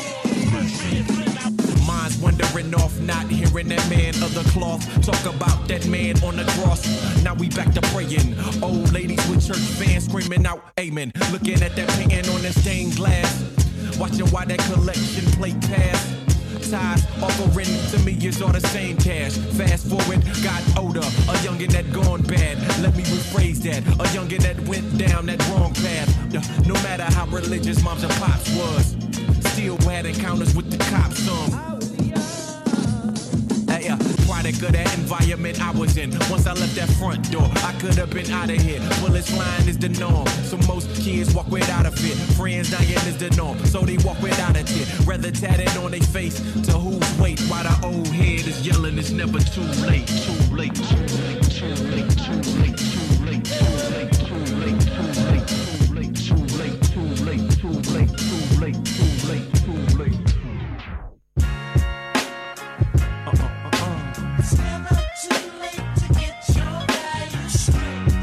[SPEAKER 9] Minds wandering off, not hearing that man of the cloth talk about that man on the cross. Now we back to praying. Old ladies with church fans screaming out amen. Looking at that painting on that stained glass. Watching why that collection plate pass. Ties offering to me is all the same cash. Fast forward, got older, a youngin' that gone bad. Let me rephrase that, a youngin' that went down that wrong path. Uh, No matter how religious moms and pops was, still had encounters with the cops. Some. Hey, uh, product of that environment I was in. Once I left that front door, I could have been out of here. Bullets flying is the norm, so most kids walk without a fit. Friends dying is the norm, so they walk without a tear. Rather tatted on their face to whose weight, while the old head is yelling it's never too late, too late, too late, too late, too late, too late, too late, too late, too late, too late, too late, too late, too late, too late, too late, too late.
[SPEAKER 4] It's never too late to get your value straight.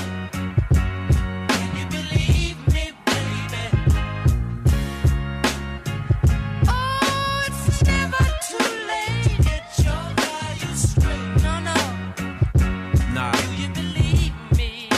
[SPEAKER 4] Can you believe me, baby? Oh, it's never too late to get your value straight. No, no.
[SPEAKER 9] Nah.
[SPEAKER 4] Do you believe me?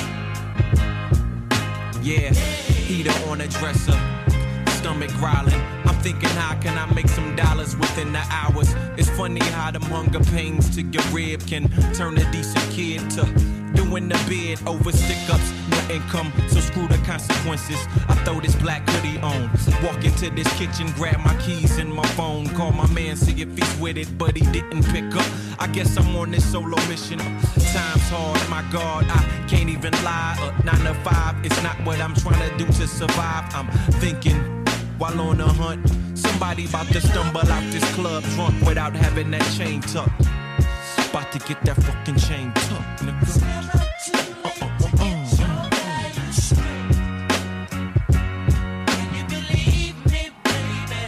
[SPEAKER 9] Yeah, heater on a dresser, stomach growling. I'm thinking, how can I make some dollars within the hours? It's funny how them hunger pains to your rib can turn a decent kid to doing the bid over stick-ups, no income, so screw the consequences. I throw this black hoodie on, walk into this kitchen, grab my keys and my phone, call my man, see if he's with it, but he didn't pick up. I guess I'm on this solo mission. Time's hard, my God, I can't even lie. Uh, nine to five, it's not what I'm trying to do to survive. I'm thinking, while on a hunt, somebody about to stumble out this club drunk without having that chain tucked. About to get that fucking chain tucked, nigga.
[SPEAKER 4] Never too late to get your value straight. Can you believe me, baby?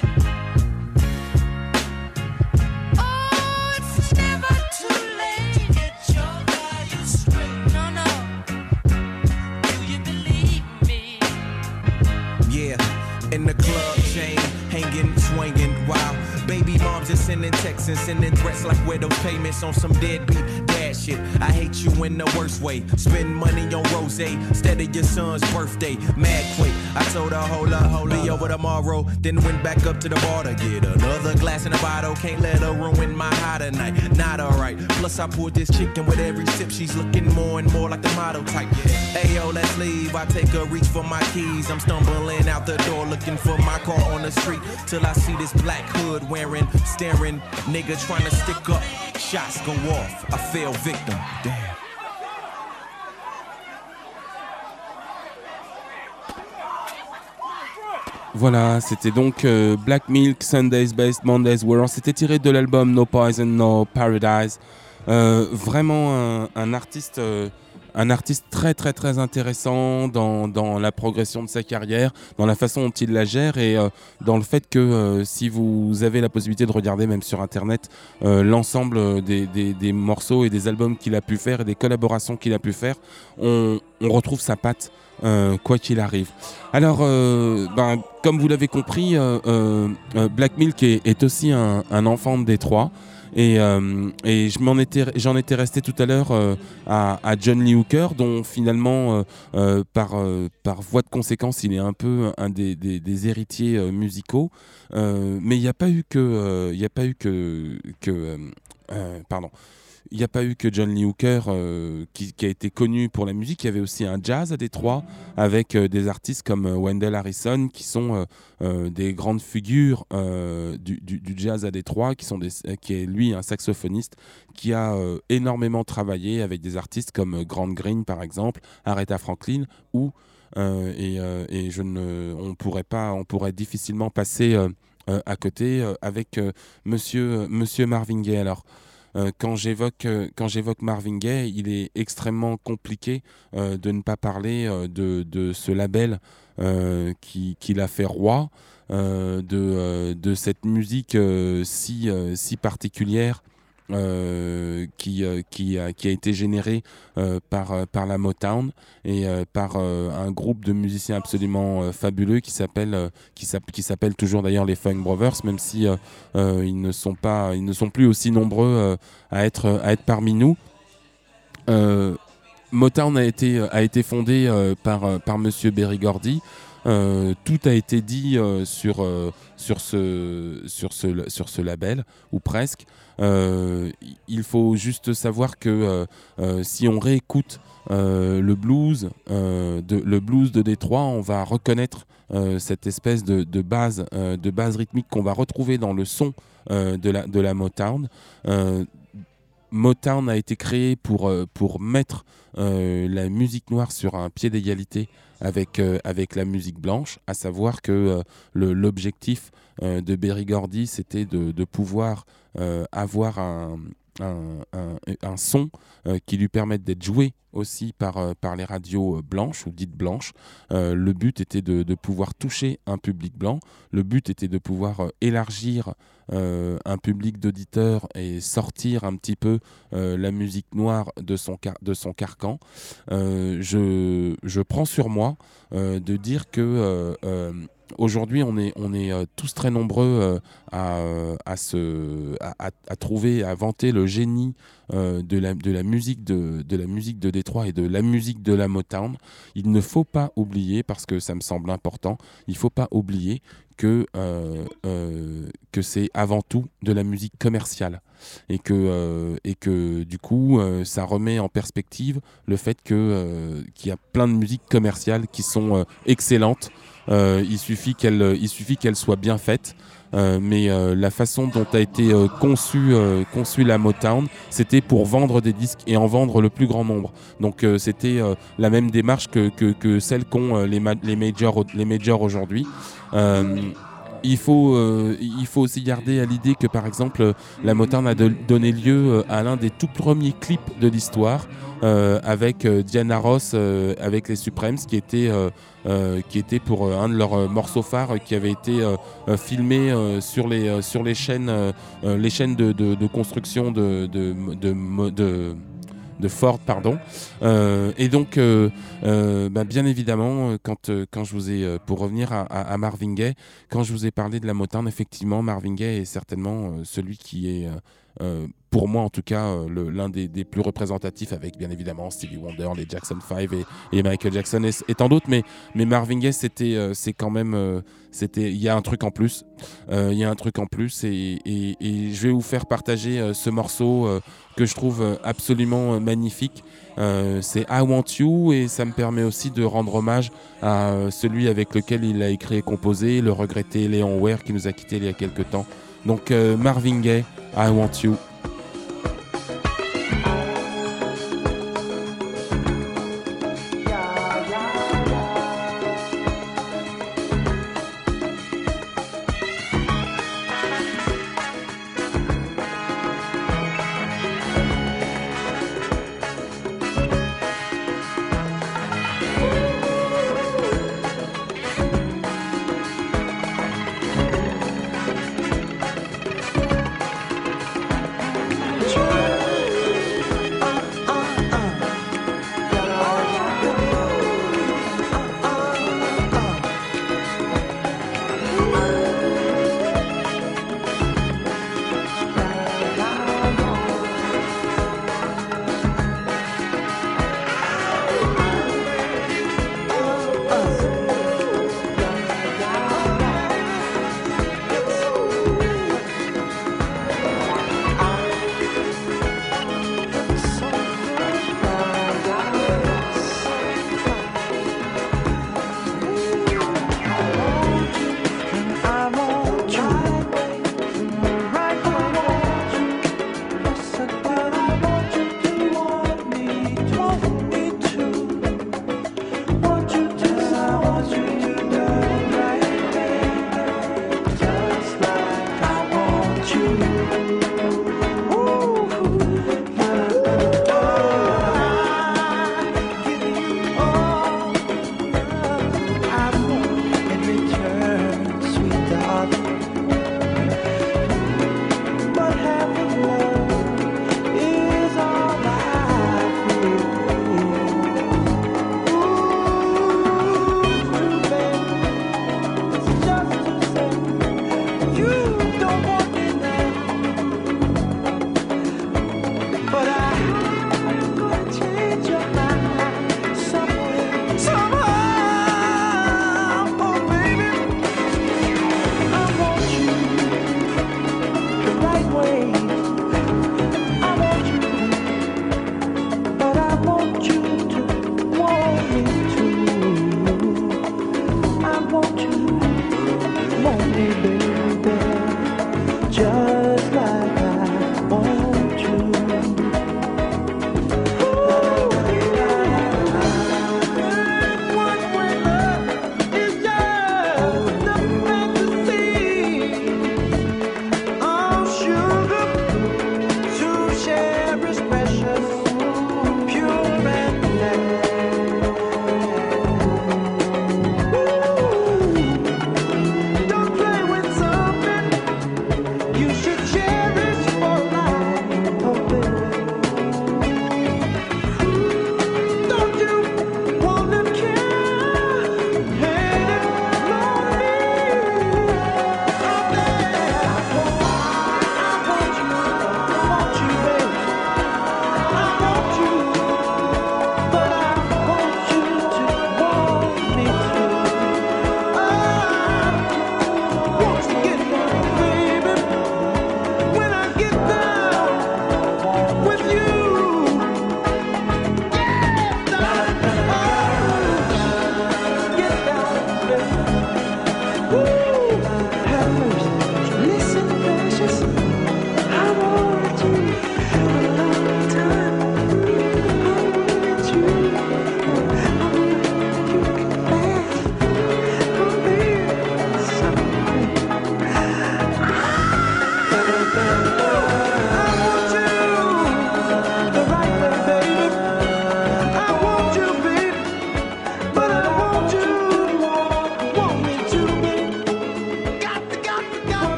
[SPEAKER 4] Oh, it's never too late to get your value straight. No, no. Do you believe me?
[SPEAKER 9] Yeah, in the club, chain hanging, swinging, wow. Baby moms are sending texts and sending threats like widow payments on some deadbeat dad bad shit. I hate you in the worst way. Spend money on rose instead of your son's birthday. Mad quick. I told her, hold up, hold up. Be over tomorrow. Then went back up to the bar to get another glass in the bottle. Can't let her ruin my high tonight. Not alright. Plus I poured this chicken with every sip. She's looking more and more like the model type. Hey yo, let's leave. I take a reach for my keys. I'm stumbling out the door looking for my car on the street. Till I see this black hood wearing, staring nigga trying to stick up. Shots go off. I fell victim. Damn.
[SPEAKER 3] Voilà, c'était donc euh, Black Milk, Sundays Best, Mondays World. C'était tiré de l'album No Poison, No Paradise. Euh, vraiment un, un artiste, euh, un artiste très très très intéressant dans, dans la progression de sa carrière, dans la façon dont il la gère et euh, dans le fait que euh, si vous avez la possibilité de regarder même sur internet euh, l'ensemble des, des, des morceaux et des albums qu'il a pu faire et des collaborations qu'il a pu faire, on, on retrouve sa patte. Euh, quoi qu'il arrive. Alors, euh, ben, comme vous l'avez compris, euh, euh, Black Milk est, est aussi un, un enfant de Détroit. Et, euh, et je m'en étais, j'en étais resté tout à l'heure euh, à, à John Lee Hooker, dont finalement, euh, euh, par, euh, par voie de conséquence, il est un peu un des, des, des héritiers euh, musicaux. Euh, mais il n'y a pas eu que, euh, il n'y a pas eu que, que euh, euh, pardon. Il n'y a pas eu que John Lee Hooker euh, qui, qui a été connu pour la musique. Il y avait aussi un jazz à Détroit avec euh, des artistes comme euh, Wendell Harrison qui sont euh, euh, des grandes figures euh, du, du, du jazz à Détroit, qui, sont des, qui est lui un saxophoniste qui a euh, énormément travaillé avec des artistes comme euh, Grant Green par exemple, Aretha Franklin ou euh, et, euh, et je ne, on pourrait pas, on pourrait difficilement passer euh, euh, à côté euh, avec euh, Monsieur, Monsieur Marvin Gaye. Alors. Euh, quand j'évoque euh, quand j'évoque Marvin Gaye, il est extrêmement compliqué euh, de ne pas parler euh, de, de ce label euh, qui, qui l'a fait roi, euh, de, euh, de cette musique euh, si, euh, si particulière euh, qui, euh, qui, a, qui a été générée euh, par, euh, par la Motown et euh, par euh, un groupe de musiciens absolument euh, fabuleux qui s'appelle, euh, qui, qui s'appelle toujours d'ailleurs les Funk Brothers, même si euh, euh, ils, ne sont pas, ils ne sont plus aussi nombreux euh, à, être, à être parmi nous. Euh, Motown a été, a été fondé euh, par, par Monsieur Berry Gordy. Euh, tout a été dit euh, sur, euh, sur, ce, sur, ce, sur ce label, ou presque. Euh, il faut juste savoir que euh, euh, si on réécoute euh, le blues, euh, de, le blues de Détroit, on va reconnaître euh, cette espèce de, de base, euh, de base rythmique qu'on va retrouver dans le son euh, de, la, de la Motown. Euh, Motown a été créé pour, euh, pour mettre euh, la musique noire sur un pied d'égalité avec, euh, avec la musique blanche, à savoir que euh, le, l'objectif euh, de Berry Gordy, c'était de, de pouvoir euh, avoir un, un, un, un son euh, qui lui permette d'être joué aussi par, euh, par les radios blanches ou dites blanches. Euh, le but était de, de pouvoir toucher un public blanc, le but était de pouvoir euh, élargir euh, un public d'auditeurs et sortir un petit peu euh, la musique noire de son, car- de son carcan. Euh, je, je prends sur moi euh, de dire que euh, euh, aujourd'hui, on est, on est euh, tous très nombreux euh, à, euh, à, se, à, à, à trouver, à vanter le génie euh, de, la, de, la musique de, de la musique de Détroit et de la musique de la Motown. Il ne faut pas oublier, parce que ça me semble important, il ne faut pas oublier que, euh, euh, que c'est avant tout de la musique commerciale. Et que, euh, et que du coup, euh, ça remet en perspective le fait que, euh, qu'il y a plein de musiques commerciales qui sont euh, excellentes. Euh, il suffit qu'elle, il suffit qu'elle soit bien faite. Euh, mais euh, la façon dont a été euh, conçue euh, conçu la Motown, c'était pour vendre des disques et en vendre le plus grand nombre. Donc euh, c'était euh, la même démarche que, que, que celle qu'ont euh, les, ma- les majors, les majors aujourd'hui. Euh, Il faut, euh, il faut aussi garder à l'idée que, par exemple, la Motown a de, donné lieu à l'un des tout premiers clips de l'histoire euh, avec euh, Diana Ross, euh, avec les Supremes, qui était, euh, euh, qui était pour euh, un de leurs euh, morceaux phares euh, qui avait été euh, euh, filmé euh, sur, les, euh, sur les chaînes, euh, les chaînes de, de, de construction de... de, de, de, de de Ford, pardon. Euh, et donc, euh, euh, bah, bien évidemment, quand, euh, quand je vous ai, euh, pour revenir à, à, à Marvin Gaye, quand je vous ai parlé de la Motown, effectivement, Marvin Gaye est certainement euh, celui qui est, euh, pour moi en tout cas, euh, le, l'un des, des plus représentatifs, avec bien évidemment Stevie Wonder, les Jackson five et, et Michael Jackson et, et tant d'autres, mais, mais Marvin Gaye, c'était, euh, c'est quand même, euh, c'était, il y a un truc en plus, il euh, y a un truc en plus, et, et, et je vais vous faire partager euh, ce morceau euh, que je trouve euh, absolument euh, magnifique. Euh, c'est I Want You, et ça me permet aussi de rendre hommage à euh, celui avec lequel il a écrit et composé, le regretté Léon Ware, qui nous a quittés il y a quelques temps. Donc euh, Marvin Gaye, I Want You.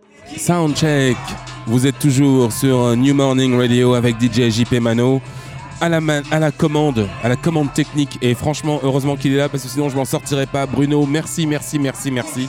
[SPEAKER 3] Soundcheck, vous êtes toujours sur New Morning Radio avec D J J P Mano. à la, man- à la commande, à la commande technique. Et franchement, heureusement qu'il est là parce que sinon je m'en sortirais pas. Bruno, merci, merci, merci, merci.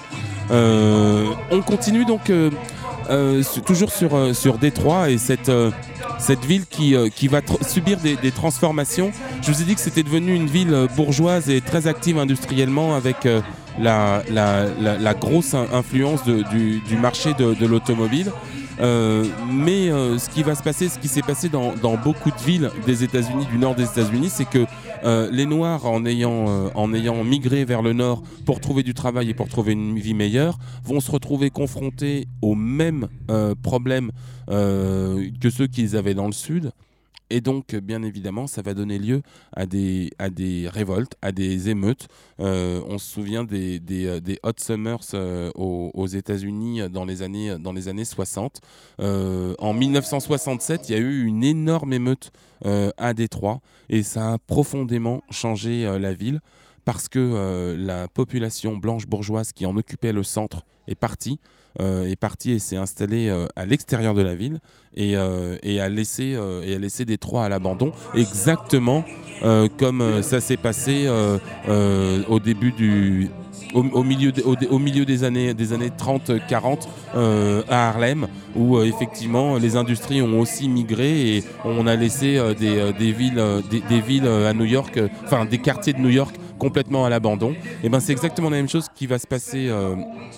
[SPEAKER 3] Euh, on continue donc euh, euh, su- toujours sur, euh, sur Détroit et cette, euh, cette ville qui, euh, qui va tr- subir des, des transformations. Je vous ai dit que c'était devenu une ville euh, bourgeoise et très active industriellement avec euh, la, la, la, la grosse in- influence de- du, du marché de, de l'automobile. Euh, mais euh, ce qui va se passer, ce qui s'est passé dans, dans beaucoup de villes des États-Unis, du nord des États-Unis, c'est que euh, les Noirs, en ayant, euh, en ayant migré vers le nord pour trouver du travail et pour trouver une vie meilleure, vont se retrouver confrontés aux mêmes euh, problèmes euh, que ceux qu'ils avaient dans le sud. Et donc, bien évidemment, ça va donner lieu à des, à des révoltes, à des émeutes. Euh, on se souvient des, des, euh, des Hot Summers euh, aux, aux États-Unis dans les années, dans les années soixante. Euh, en mille neuf cent soixante-sept, il y a eu une énorme émeute euh, à Détroit et ça a profondément changé euh, la ville parce que euh, la population blanche bourgeoise qui en occupait le centre est partie. Euh, est parti et s'est installé euh, à l'extérieur de la ville et, euh, et, a laissé, euh, et a laissé Détroit à l'abandon, exactement euh, comme euh, ça s'est passé euh, euh, au début du... Au, au, milieu de, au, au milieu des années, des années trente quarante euh, à Harlem, où euh, effectivement les industries ont aussi migré et on a laissé euh, des, euh, des villes, euh, des, des villes euh, à New York, enfin euh, des quartiers de New York complètement à l'abandon. Et ben c'est exactement la même chose qui va se passer. Euh,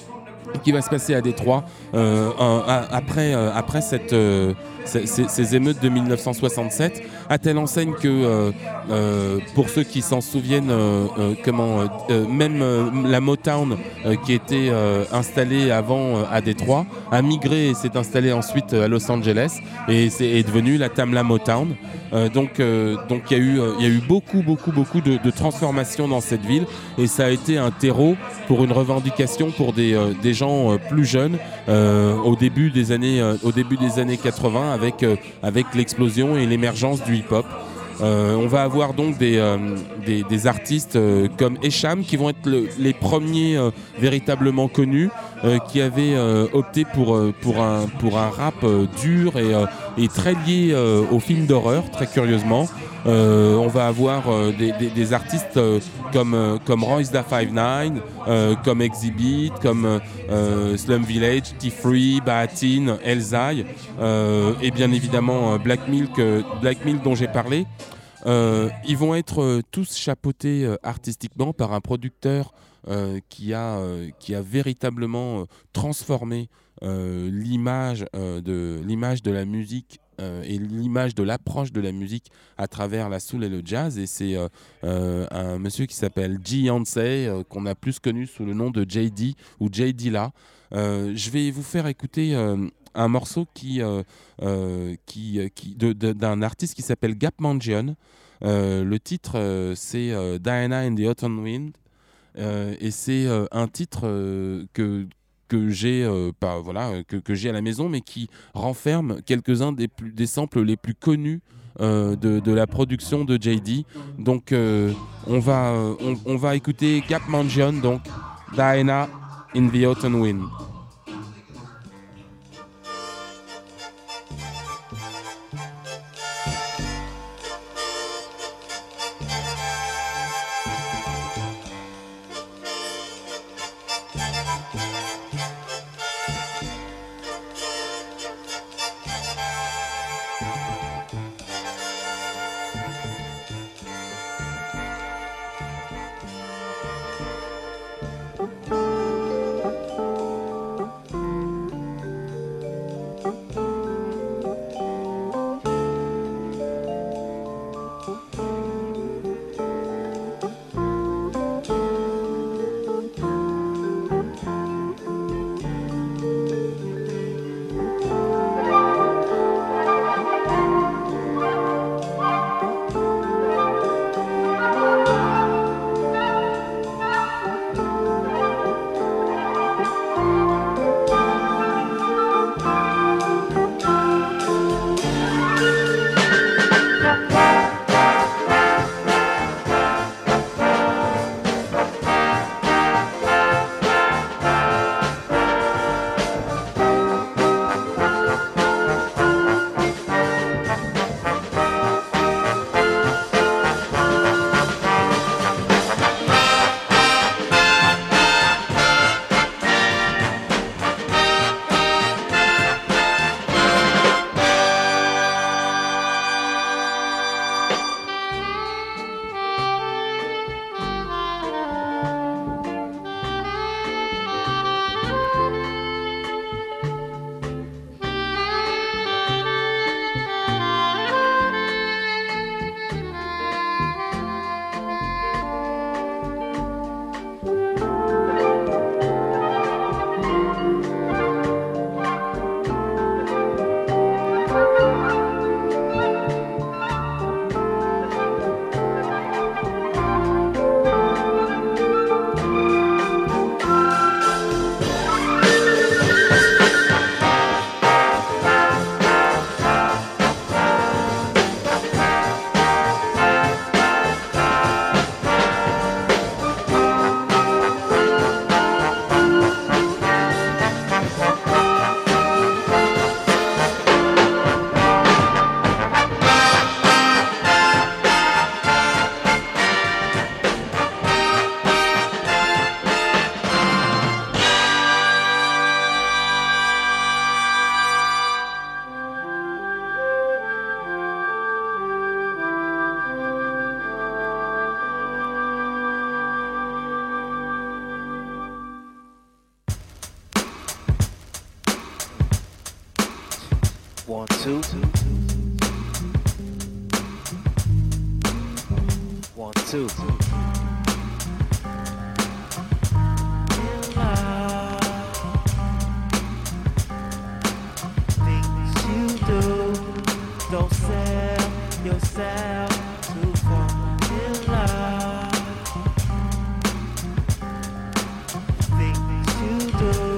[SPEAKER 3] qui va se passer à Détroit euh, un, un, après, euh, après cette, euh, ces, ces émeutes de mille neuf cent soixante-sept, à telle enseigne que, euh, euh, pour ceux qui s'en souviennent, euh, euh, comment, euh, même euh, la Motown euh, qui était euh, installée avant euh, à Détroit, a migré et s'est installée ensuite à Los Angeles et c'est, est devenue la Tamla Motown. Euh, donc euh, donc il y a eu il y a eu beaucoup beaucoup beaucoup de, de transformations dans cette ville et ça a été un terreau pour une revendication pour des euh, des gens euh, plus jeunes euh, au début des années euh, au début des années quatre-vingts avec euh, avec l'explosion et l'émergence du hip-hop. Euh, on va avoir donc des, euh, des, des artistes euh, comme Esham qui vont être le, les premiers euh, véritablement connus, euh, qui avaient euh, opté pour, euh, pour, un, pour un rap euh, dur et, euh, et très lié euh, aux films d'horreur, très curieusement. Euh, on va avoir euh, des, des, des artistes euh, comme, euh, comme Royce da five nine, euh, comme Exhibit, comme euh, Slum Village, T-Free, Baatin, Elzai, euh, et bien évidemment euh, Black Milk, euh, Black Milk dont j'ai parlé. Euh, ils vont être euh, tous chapeautés euh, artistiquement par un producteur euh, qui, a, euh, qui a véritablement euh, transformé euh, l'image, euh, de, l'image de la musique euh, et l'image de l'approche de la musique à travers la soul et le jazz. Et c'est euh, euh, un monsieur qui s'appelle G. Yancey, euh, qu'on a plus connu sous le nom de J D ou J Dilla. Euh, je vais vous faire écouter euh, un morceau qui, euh, euh, qui, qui, de, de, d'un artiste qui s'appelle Gap Mangione. Euh, le titre, euh, c'est euh, Diana and the Autumn Wind. Euh, et c'est euh, un titre euh, que, que, j'ai, euh, pas, voilà, que, que j'ai à la maison, mais qui renferme quelques-uns des, plus, des samples les plus connus euh, de, de la production de J D. Donc, euh, on, va, euh, on, on va écouter Gap Mangione, donc Diana in the Autumn Wind.
[SPEAKER 10] two. Things you do, don't sell yourself to fall in love. Things you do.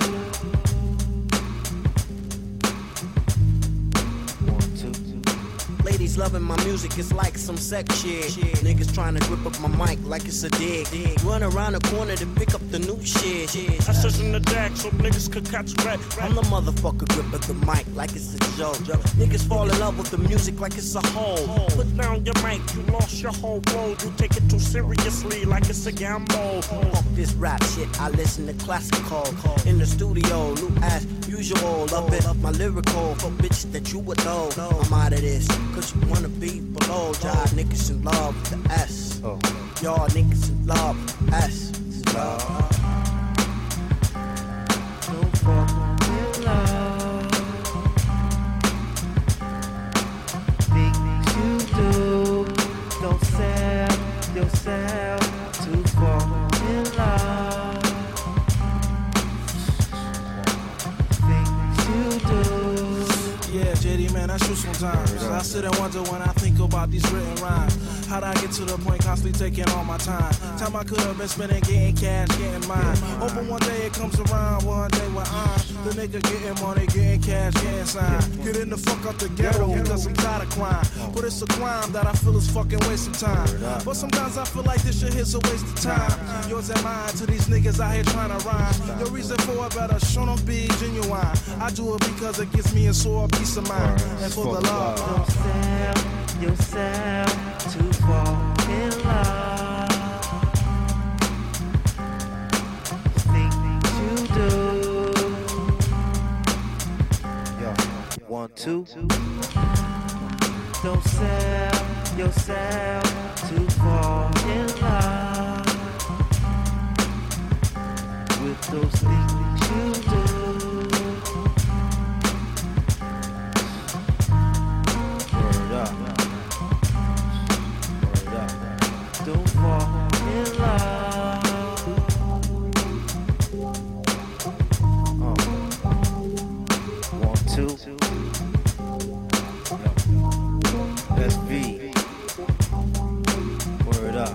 [SPEAKER 10] One, two, two.
[SPEAKER 11] Ladies loving my music, it's like some sex shit. Niggas trying to grip up my mic like it's a dig. Run around the corner to pick up the new shit. I search in the deck so niggas could catch a rat. I'm the motherfucker grip up the mic like it's a joke. Niggas fall in love with the music like it's a hole. Put down your mic, you lost your whole world. You take it too seriously like it's a gamble. Fuck this rap shit, I listen to classical. In the studio, new as usual. Love it, my lyrical for bitches that you would know. I'm out of this, cause you wanna be below. Y'all niggas in love with the S. Y'all niggas in love with the S. Love.
[SPEAKER 10] Don't fuck with love. Things you do, don't sell yourself to fall in love. Things you do.
[SPEAKER 12] Yeah, J D, man, I shoot sometimes. I sit and wonder when I think about these written rhymes. How'd I get to the point constantly taking all my time? Time I could have been spending getting cash, getting mine. Hoping one day it comes around, one day when I'm the nigga getting money, getting cash, getting signed. Getting the fuck out the ghetto because I'm tired of crime. But it's a crime that I feel is fucking wasting time. But sometimes I feel like this shit is a waste of time. Yours and mine to these niggas out here trying to rhyme. Your reason for it better show them be genuine. I do it because it gives me a sore peace of mind. And for the love,
[SPEAKER 10] don't sell yourself to fall in love. Things you do. Yo, one, two. Don't sell yourself to fall in love with those things you do. Word up. Word up. Don't fall in love. Oh. One, two. That's V. Word up.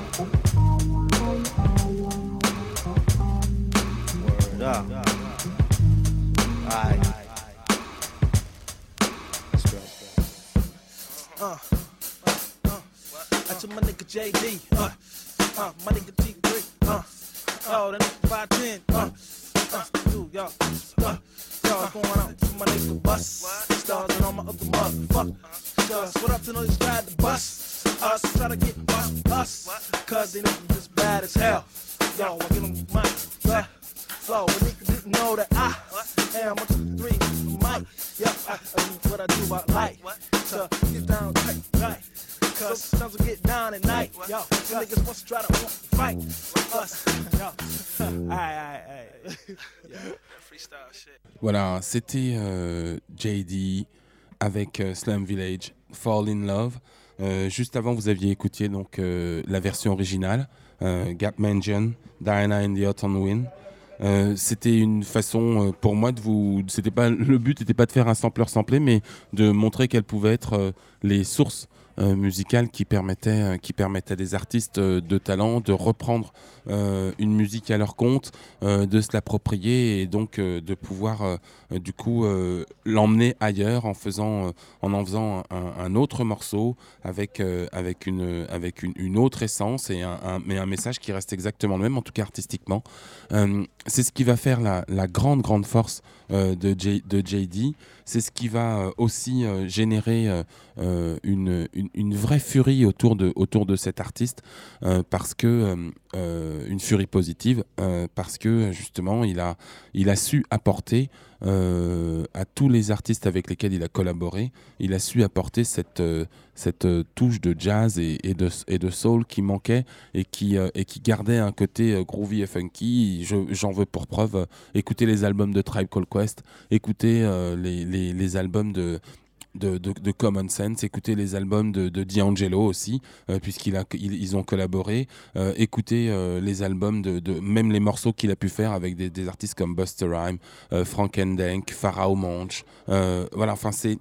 [SPEAKER 10] Word up. Alright. Let's go.
[SPEAKER 12] Uh, uh, that's my nigga J D. Uh, uh, my nigga T three. Uh, oh, that nigga five ten. Uh, uh, dude, yo. Uh, yo, what's going on? My nigga Bus. Stars and all my other motherfuckers. What up to those ride the bus? Us try to get bust us. Cause they know we just bad as hell. Yo, I get them my uh, flow. A nigga didn't know that I am one, two, three, Mike. Yeah, I, I, what I do, I like to get down tight, right? Cause sometimes we get down at night. Yo, some niggas want to try to fight us. Yo, aïe, aïe, aïe. Yeah, freestyle shit.
[SPEAKER 3] Voilà, c'était euh, J D avec euh, Slum Village, Fall in Love. Euh, juste avant, vous aviez écouté donc euh, la version originale, euh, Gap Mansion, Diana and the Autumn Wind. Euh, c'était une façon euh, pour moi de vous. C'était pas le but n'était pas de faire un sampler samplé, mais de montrer quelles pouvaient être euh, les sources euh, musicales qui permettaient, euh, qui permettaient à des artistes euh, de talent de reprendre euh, une musique à leur compte, euh, de se l'approprier et donc euh, de pouvoir euh, euh, du coup euh, l'emmener ailleurs en faisant, euh, en en faisant un, un autre morceau avec euh, avec une avec une, une autre essence et un, un mais un message qui reste exactement le même, en tout cas artistiquement. Euh, c'est ce qui va faire la, la grande grande force euh, de, J, de J D. C'est ce qui va euh, aussi euh, générer euh, euh, une, une, une vraie furie autour de, autour de cet artiste, euh, parce que euh, euh, une furie positive, euh, parce que justement il a, il a su apporter euh, à tous les artistes avec lesquels il a collaboré, il a su apporter cette, euh, cette euh, touche de jazz et, et, de, et de soul qui manquait et qui, euh, et qui gardait un côté euh, groovy et funky. Je, j'en veux pour preuve, euh, écoutez les albums de Tribe Called Quest, écoutez euh, les, les, les albums de de, de, de Common Sense, écoutez les albums de, de D'Angelo aussi, euh, puisqu'ils a, ils, ils ont collaboré, euh, écoutez euh, les albums, de, de même les morceaux qu'il a pu faire avec des, des artistes comme Busta Rhymes, euh, Frank Ndenk, Pharoah Monch, euh, voilà, enfin c'est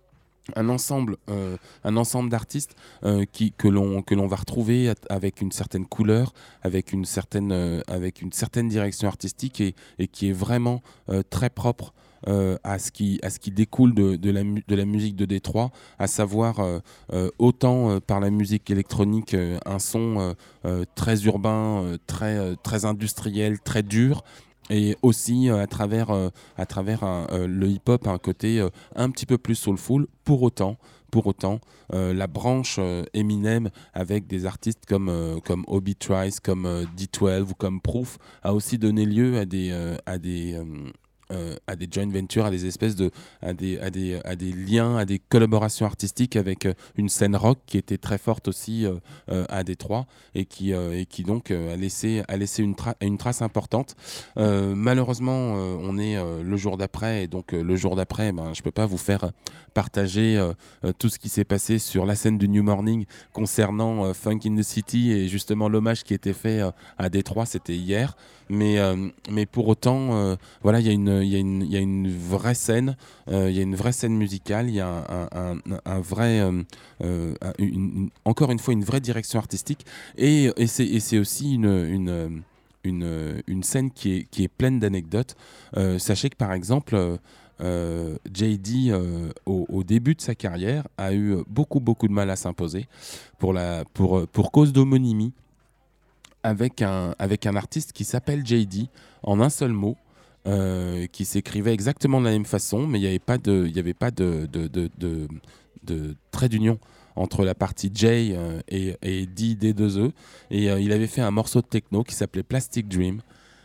[SPEAKER 3] un ensemble, euh, un ensemble d'artistes euh, qui, que, l'on, que l'on va retrouver avec une certaine couleur, avec une certaine, euh, avec une certaine direction artistique et, et qui est vraiment euh, très propre euh, à, ce qui, à ce qui découle de, de, la, de la musique de Détroit, à savoir euh, euh, autant euh, par la musique électronique, euh, un son euh, euh, très urbain, euh, très, euh, très industriel, très dur, et aussi euh, à travers, euh, à travers un, euh, le hip-hop un côté euh, un petit peu plus soulful. Pour autant, pour autant euh, la branche euh, Eminem avec des artistes comme, euh, comme Obi Trice, comme euh, D douze ou comme Proof a aussi donné lieu à des, euh, à des, euh, euh, à des joint ventures, à des espèces de, à des, à des, à des liens, à des collaborations artistiques avec euh, une scène rock qui était très forte aussi euh, euh, à Détroit et qui, euh, et qui donc euh, a laissé, a laissé une, tra- une trace importante. Euh, malheureusement, euh, on est euh, le jour d'après et donc euh, le jour d'après, ben, je peux pas vous faire partager euh, euh, tout ce qui s'est passé sur la scène du New Morning concernant euh, Funk in the City et justement l'hommage qui était fait euh, à Détroit, c'était hier. Mais, euh, mais pour autant, euh, voilà, il y a une, il y a une, il y a une vraie scène, euh, il y a une vraie scène musicale, il y a un, un, un, un vrai, euh, euh, une, une, encore une fois, une vraie direction artistique, et, et c'est, et c'est aussi une, une, une, une scène qui est, qui est pleine d'anecdotes. Euh, sachez que par exemple, euh, J D, euh, au, au début de sa carrière, a eu beaucoup, beaucoup de mal à s'imposer pour, la, pour, pour cause d'homonymie. Avec un, avec un artiste qui s'appelle J D, en un seul mot, euh, qui s'écrivait exactement de la même façon, mais il n'y avait pas de, il y avait pas de, de, de, de, de trait d'union entre la partie J euh, et, et D, D deux E. Et euh, il avait fait un morceau de techno qui s'appelait Plastic Dream,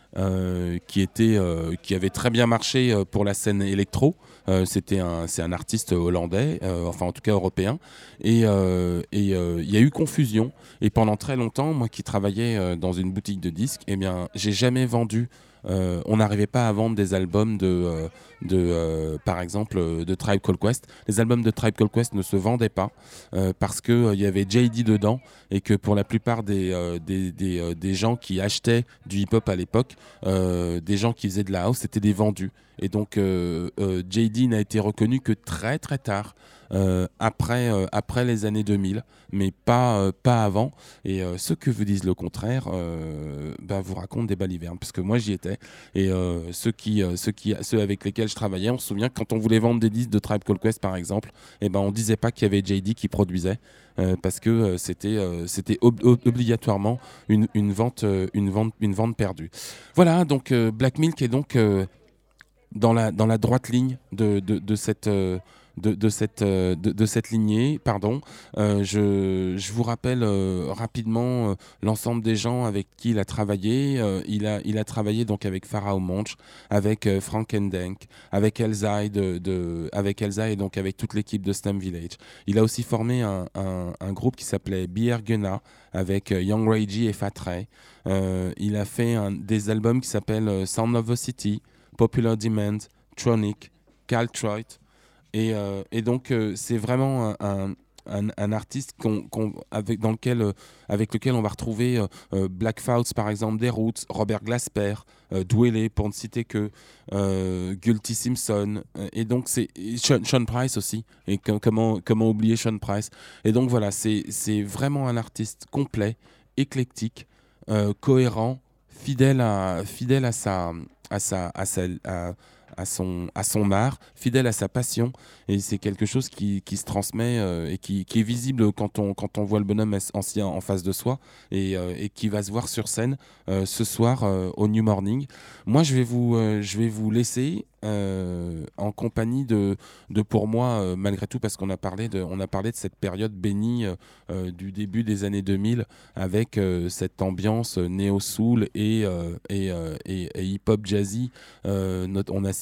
[SPEAKER 3] euh, qui, était, euh, qui avait très bien marché euh, pour la scène électro. Euh, c'était un, c'est un artiste hollandais, euh, enfin en tout cas européen, et il euh, euh, y a eu confusion. Et pendant très longtemps, moi qui travaillais euh, dans une boutique de disques, eh bien, j'ai jamais vendu. Euh, on n'arrivait pas à vendre des albums de, euh, de euh, par exemple, euh, de Tribe Called Quest. Les albums de Tribe Called Quest ne se vendaient pas euh, parce qu'il euh, y avait J D dedans et que pour la plupart des, euh, des, des, euh, des gens qui achetaient du hip-hop à l'époque, euh, des gens qui faisaient de la house, c'était des vendus. Et donc euh, euh, J D n'a été reconnu que très très tard, euh, après, euh, après les années deux mille, mais pas, euh, pas avant. Et euh, ceux que vous disent le contraire euh, bah, vous racontent des balivernes, parce que moi j'y étais. Et euh, ceux, qui, euh, ceux, qui, ceux avec lesquels je travaillais, on se souvient que quand on voulait vendre des disques de Tribe Called Quest par exemple, eh ben, on ne disait pas qu'il y avait J D qui produisait, euh, parce que euh, c'était, euh, c'était ob- ob- obligatoirement une, une, vente, euh, une, vente, une vente perdue. Voilà, donc euh, Black Milk est donc... Euh, Dans la, dans la droite ligne de, de, de, cette, euh, de, de, cette, euh, de, de cette lignée. Pardon. Euh, je, je vous rappelle euh, rapidement euh, l'ensemble des gens avec qui il a travaillé. Euh, il, a, il a travaillé donc avec Pharoah Monch, avec euh, Frank Ndenk, avec Elzai, de, de, avec Elzai et donc avec toute l'équipe de Slum Village. Il a aussi formé un, un, un groupe qui s'appelait Beer Gunna avec euh, Young Ray G et Fat Ray. Euh, il a fait un, des albums qui s'appellent euh, Sound of the City, Popular Demand, Tronic, Caltroit, et, euh, et donc euh, c'est vraiment un, un, un, un artiste qu'on, qu'on, avec, dans lequel, euh, avec lequel on va retrouver euh, euh, Black Fouts par exemple, des Roots, Robert Glasper, euh, Dwele pour ne citer que, euh, Gulty Simpson, euh, et donc c'est et Sean, Sean Price aussi, et que, comment, comment oublier Sean Price. Et donc voilà, c'est, c'est vraiment un artiste complet, éclectique, euh, cohérent, fidèle à, fidèle à sa... à sa, à sa, à, à son, à son art, fidèle à sa passion, et c'est quelque chose qui, qui se transmet euh, et qui, qui est visible quand on, quand on voit le bonhomme ancien en face de soi, et, euh, et qui va se voir sur scène euh, ce soir euh, au New Morning. Moi je vais vous, euh, je vais vous laisser euh, en compagnie de, de pour moi euh, malgré tout, parce qu'on a parlé de, on a parlé de cette période bénie euh, du début des années deux mille avec euh, cette ambiance néo-soul et, euh, et, euh, et, et hip-hop jazzy. Euh, notre, on a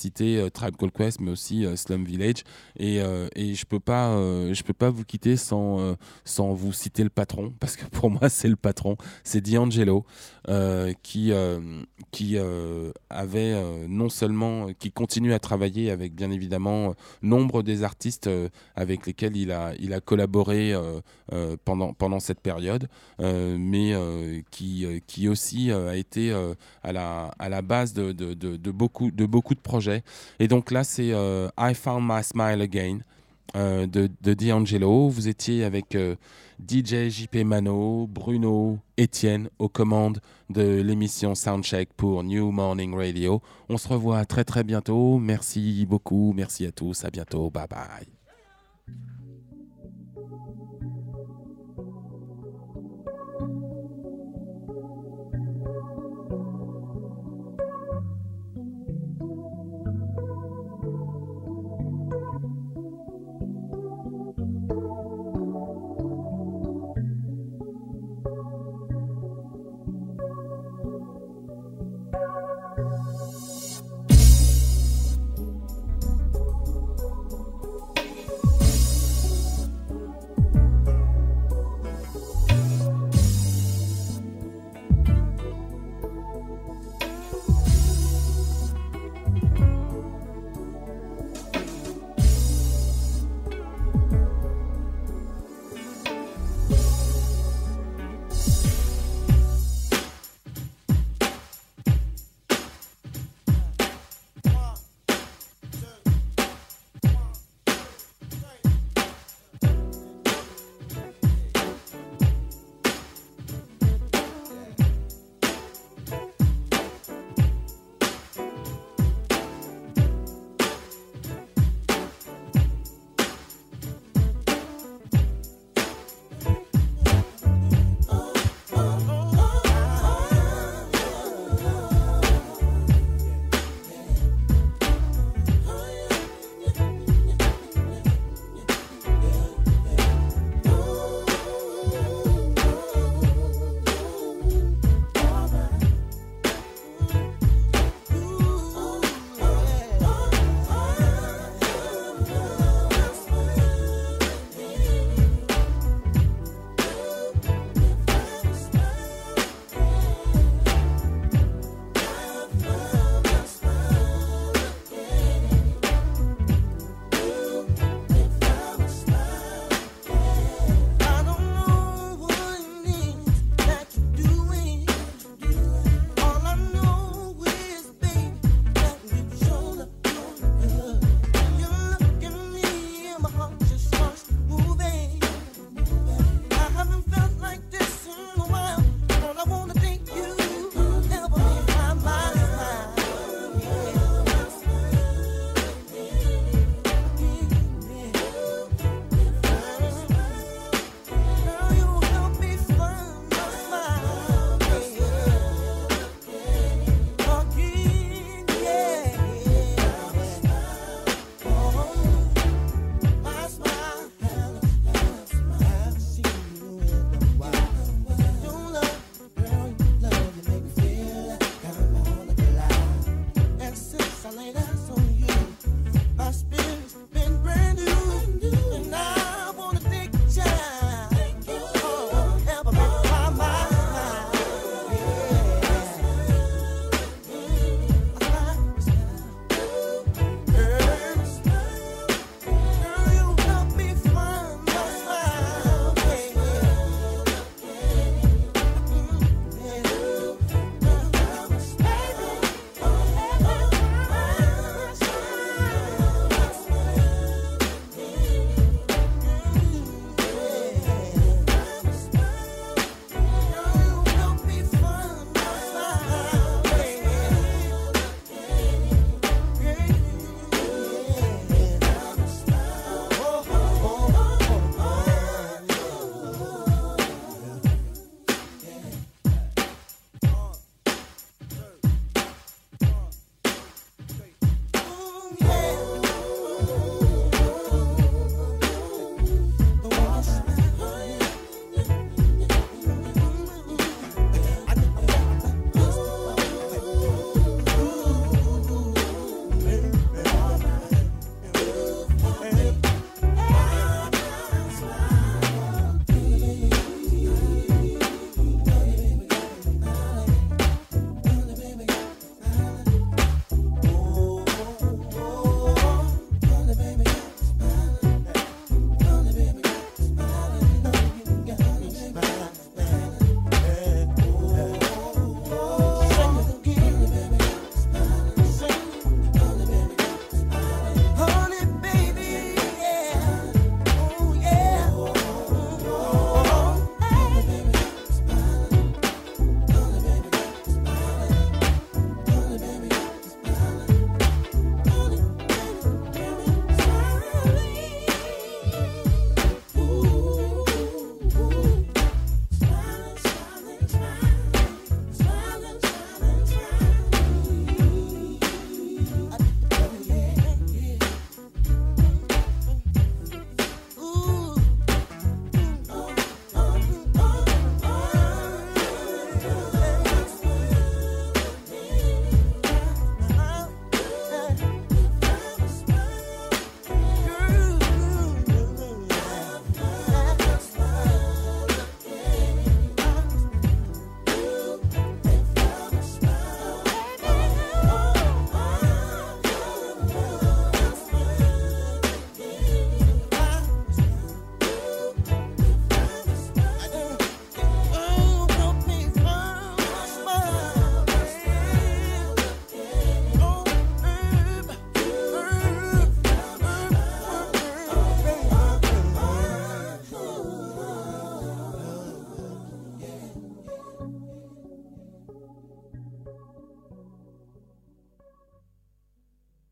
[SPEAKER 3] cité euh, Tribe Called Quest, mais aussi euh, Slum Village. Et, euh, et je peux pas, euh, je peux pas vous quitter sans, euh, sans vous citer le patron, parce que pour moi, c'est le patron. C'est D'Angelo, euh, qui, euh, qui euh, avait euh, non seulement, qui continue à travailler avec, bien évidemment, euh, nombre des artistes euh, avec lesquels il a, il a collaboré euh, euh, pendant, pendant cette période, euh, mais euh, qui, euh, qui aussi euh, a été euh, à, la, à la base de, de, de, de, beaucoup, de beaucoup de projets. Et donc là, c'est euh, I Found My Smile Again euh, de, de D'Angelo. Vous étiez avec euh, D J J P Mano, Bruno, Étienne aux commandes de l'émission Soundcheck pour New Morning Radio. On se revoit très très bientôt. Merci beaucoup, merci à tous, à bientôt, bye bye.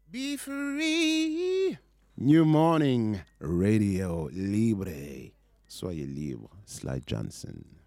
[SPEAKER 1] Be free. New Morning Radio Libre. Soyez libre. Sly Johnson.